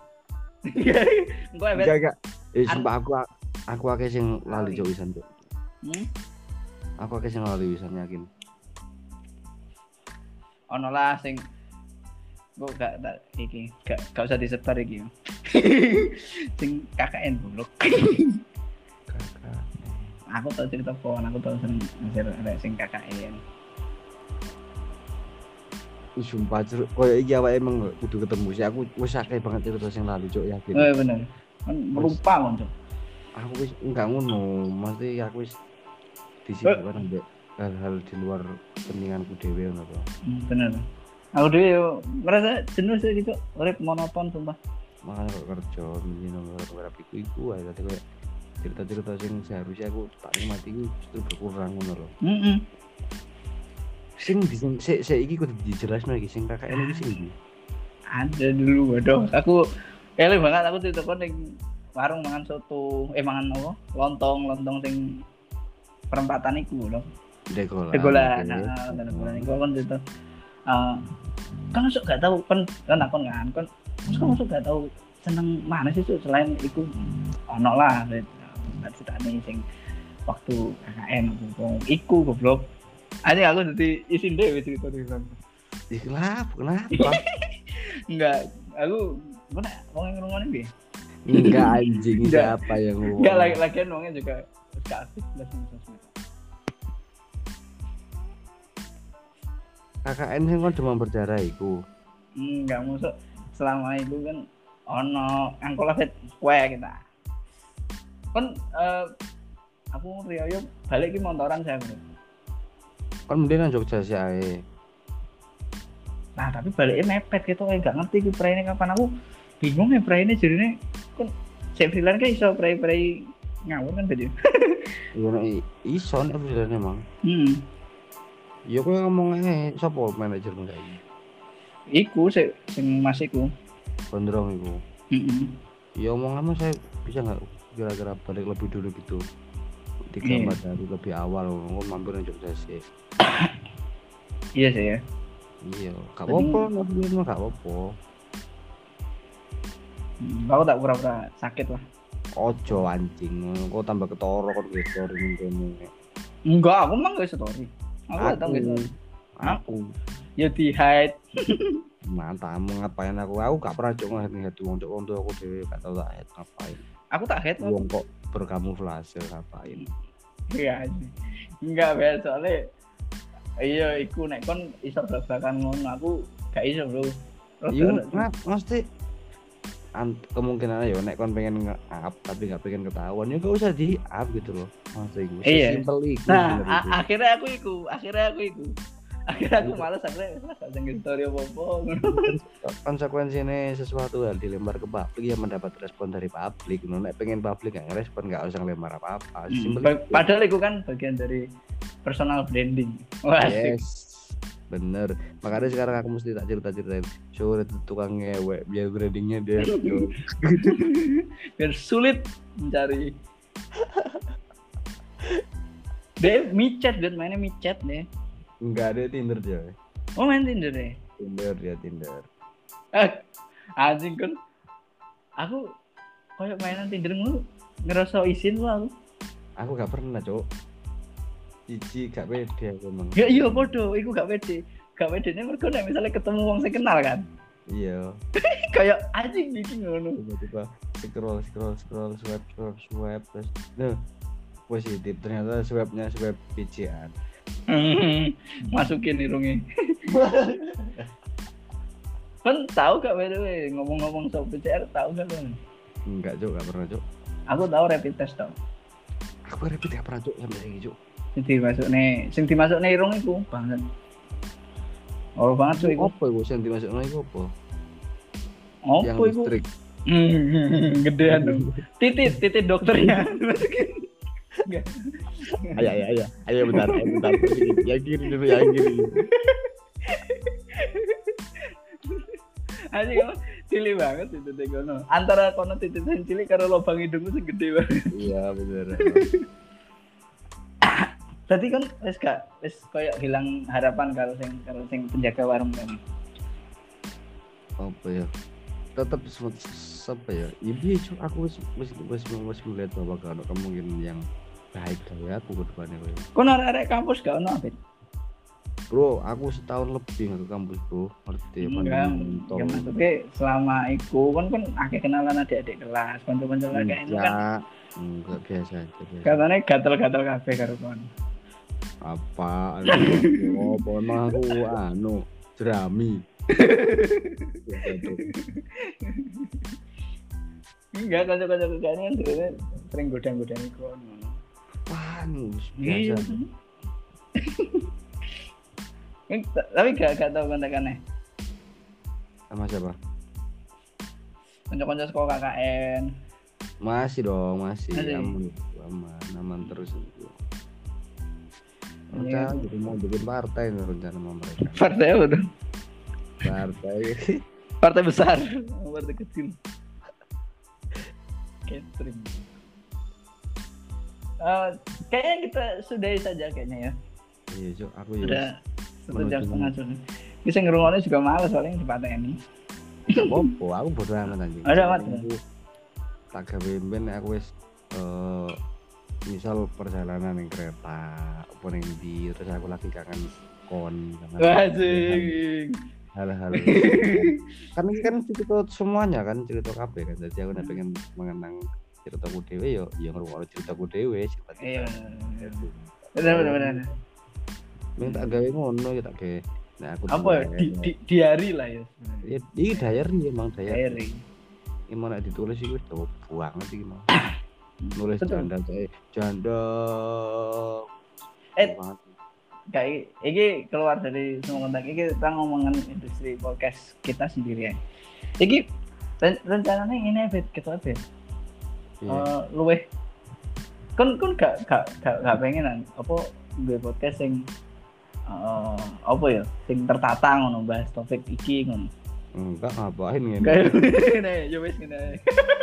Engko enggak. Sumpah aku akeh sing lali cok wisan cok. Aku akeh sing lali wisan yakin. Ono lah sing kok gak iki gak usah disebar iki. Sing KKN buluk. Aku tau cerita aku tau sing KKN. Sumpah koyo iki awake emang kudu ketemu sih aku wis akeh banget cerita sing lalu cok yakin. Bener. Kan melupa kon cok. Aku wis enggak ngono, mesti aku wis disibukkan ambek hal-hal di luar kepentinganku dhewe ngono to. Bener. Aku dhewe merasa jenuh sih gitu, urip monoton sumpah. Makanya kok kerja minum beberapa iku ae tadi koyo cerita-cerita sing seharusnya aku tak nikmati iku justru berkurang ngono lho. Sing iki kudu dijelasno iki sing KKN iki sing ndi? Ada dulu waduh aku eleh banget aku ditekon ning warung mangan soto mangan apa lontong sing perempatan iku lho. Degolan iku kan itu kan masuk gak tahu kan aku kan masuk gak tahu seneng mana sih tuh selain iku ono lah ceritane sing waktu KKN iku goblok. Aja aku jadi isin deh cerita di sana. Kenapa? Enggak, aku mana wong yang ngomongin dia? Enggak anjing siapa yang ngomong? Enggak lagian wongnya juga kasih plus sosmed. KKN sing kon demam berdarah iku. Enggak masuk selama itu kan ono angkola set kue kita. Kan aku Rio balik ki montoran saya bro. Kan mending nang Jogja sih ae. Nah, tapi baliknya mepet gitu kayak gak ngerti ki praine kapan aku bingung ya praine jarine kan saya freelance kan iso prai ngawur kan tadi. Iya nek iso nek freelance emang. Ya kowe ngomong ae sapa manajermu saiki? Iku sing Mas iku. Gondrong iku. Ya omonganmu saya bisa enggak kira-kira balik lebih dulu gitu. 3 dari lebih awal ngomong mampir nang Jogja sih. Iya sih ya. Iya, gak apa-apa, gak apa-apa. Aku tak pura-pura sakit lah. Ojo anjing, kok tambah ketoro kok gitu ini. Enggak, aku emang gak story. Aku datang gitu. Aku. Ya di hide. Mantap, ngapain aku gak pernah cok nge-hide wong tuh aku dhewe gak tau tak hide ngapain. Aku tak hide wong kok berkamuflase ngapain. Iya anjing. Enggak biasa soalnya iya iku nek kon iso blak-blakan ngono aku gak iso bro. Iya mesti kemungkinan ya nek kon pengen nge-up tapi gak pengen ketahuan ya gak usah di-up gitu loh. Maksud iku sesimpel iku. Nah, akhirnya aku iku. Akhirnya aku malas akhirnya gak sing story apa-apa. Konsekuensinya sesuatu hal dilempar ke publik ya mendapat respon dari publik. Nek pengen publik gak ngerespon gak usah lempar apa-apa. Padahal itu kan bagian dari personal branding. Wah, yes. Bener. Makanya sekarang aku mesti tak cerita-ceritain. Sore tukang ngewek biar brandingnya dia. Biar sulit mencari. Dia micet, dia mainnya micet deh. Enggak ada Tinder dia. Oh main Tinder deh. Tinder. Anjing kan. Aku koyo mainan Tinder ngono ngerasa isin lu aku. Aku gak pernah, Cuk. Cici gak pede aku emang. Ya iya podo, iku gak pede. Gak pedene mergo nek misale ketemu wong sing kenal kan. Iya. Kayak anjing iki ngono. Tiba-tiba scroll swipe terus positif ternyata swipe BCA. Masukin irunge. Kan tahu gak wewe ngomong-ngomong soal PCR tahu gak lu? Enggak, Cuk, gak pernah, Cuk. Aku tahu rapid test tau. Aku rapid gak pernah, Cuk, sampai saiki, Cuk. Sing dimasukne irung iku banget. Oh banget Cuk iku. Apa iku sing dimasukno iku apa? Apa iku? Gedean dong. Titit dokternya. Enggak. Ayo bentar. Yang kiri dulu, yang kiri. Anjing apa? Cilik banget itu teh kono. Antara kono titit sing cilik karo lubang hidungku sing gede banget. Iya, bener. Tadi kan wis koyo hilang harapan karo sing penjaga warung kan. Apa ya? Tetap apa ya? Ibu Cuk, aku wis melihat bahwa kalau kemungkinan yang baik dari aku ke depannya koyo. Kon arek kampus gak ono apa? Bro, aku setahun lebih ke kampus, Bro. Ngerti ya maksudnya selama iku kan akeh kenalan adik-adik kelas, kanca-kanca kayak itu kan. Enggak biasa aja. Katanya gatel-gatel kabeh karo kon. Apa? Apa aku jerami. Enggak, kanca-kanca kayak ini kan sering godang-godang kon. Biasa. Tapi gak tau kontak-kontakannya. Sama siapa? Kanca-kanca sekolah KKN. Masih. Aman terus itu. Rencana jadi mau bikin partai nih rencana sama mereka. Partai apa dong? Partai besar, partai kecil. Catering. Kayaknya kita sudahi saja kayaknya ya. Iya, Cuk, aku ya. Sudah 1.5 jam. Bisa ngerungoknya juga males soalnya di partai ini. Apa? Aku bodo amat anjing. Ada amat. Tak gawe ben aku wis misal perjalanan yang kereta apa yang di terus aku lagi kangen kon hal-hal kan ini kan cerita semuanya kan cerita kabeh kan jadi aku pengen mengenang ceritaku dhewe yo ngrungokno ceritaku dhewe iya benar minta gawe ngono ya tak gawe nah aku apa diary lah ya iki diary emang diary ini mau ditulis itu udah banget sih mau nulis janda kayak ini keluar dari semua kontak ini kita ngomongin industri podcast kita sendiri ya ini rencananya ini Bet kita Bet luweh kan gak pengenan apa gue podcast yang apa ya sing tertata ngono bahas topik iki ngono. Enggak ngapain ngene. Ngene, ya wis ngene.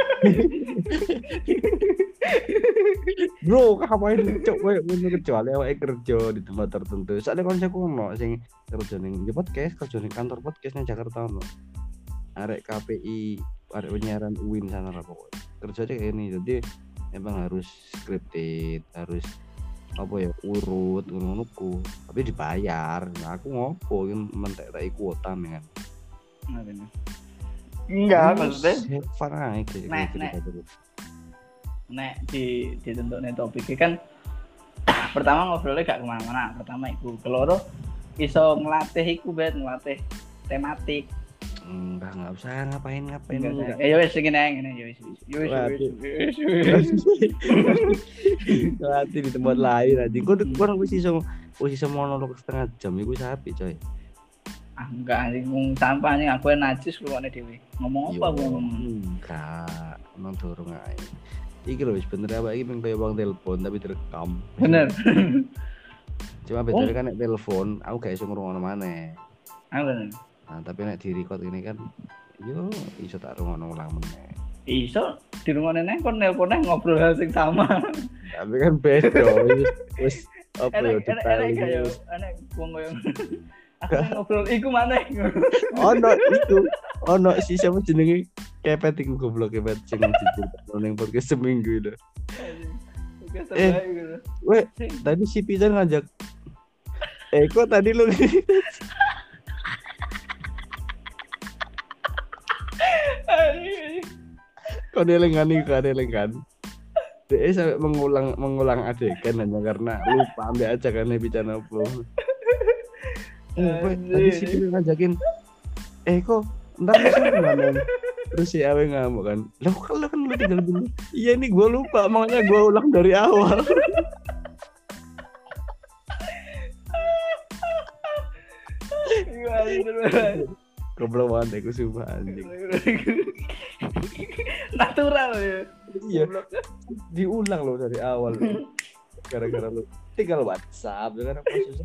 Bro, ngapain cok kowe ngono kecuali awake kerja di tempat tertentu. Soale koncoku ono sing kerja ning podcast, kerja ning kantor podcast ning Jakarta ono. Arek KPI, arek penyiaran UIN sana lah pokoknya. Kerjanya kayak ini. Jadi emang harus scripted, harus apa ya urut ngono-ngono tapi dibayar. Nah, aku ngopo mentek-tek kuota dengan enggak maksudnya nek ditentukne topiknya kan pertama ngobrolnya gak kemana-mana pertama iku keloro iso ngelatih iku bet ngelatih tematik enggak usah ngapain ya wis ngene ya wis latih di tempat lain nanti kok wis iso monolog setengah jam iku sapi coy. Enggak anjing sampah nih aku najis keluarnya dewe ngomong apa gua ngomong enggak emang dorong aja iki lho wis bener apa iki pengen kayak bang telepon tapi direkam bener cuma bedanya kan nek telepon aku gak iso ngrungokno maneh bener nah tapi nek di record ini kan yo iso tak rungokno ulang meneh iso dirungokne neng kon nelpone ngobrol hal sing sama tapi kan beda wis apa yo detail enek wong koyo aku ngobrol iku maneh ono si siapa jenenge Kepet iku goblok kepet sing diceritakan ning podcast seminggu itu. Podcast terbaik gitu. Weh, tadi si Pisan ngajak kok tadi lu kok delengan dia sampai mengulang adegan hanya karena lupa ambil ajakannya bicara apa. Tadi si Pisan ngajakin kok ntar bisa ngomong terus si Awe ngamuk kan lo kan lu tinggal dulu iya nih gue lupa makanya gue ulang dari awal. Goblok banget aku sumpah anjing. Natural ya. Iya. Diulang lo dari awal. Gara-gara lu tinggal WhatsApp dengan apa susah.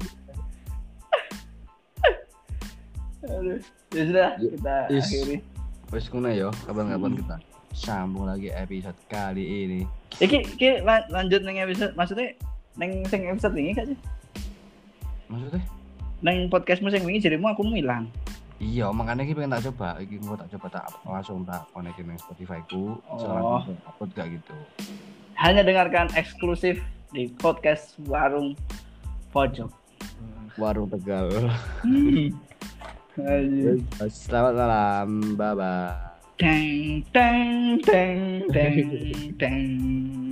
Aduh. Ya sudah kita akhiri. Wes kuna yo, kapan-kapan kita sambung lagi episode kali ini. Iki lanjut neng episode maksudnya neng sing episode ini gak sih? Maksudnya? Neng podcastmu sing wingi jarimu aku ilang. Iya, makanya iki pengen tak coba. Iki mau tak coba langsung tak konekin nang Spotify ku, langsung upload gak gitu. Hanya dengarkan eksklusif di podcast Warung Pojok. Warung Tegal. Aduh. Selamat malam, bye bye. Teng teng teng teng teng.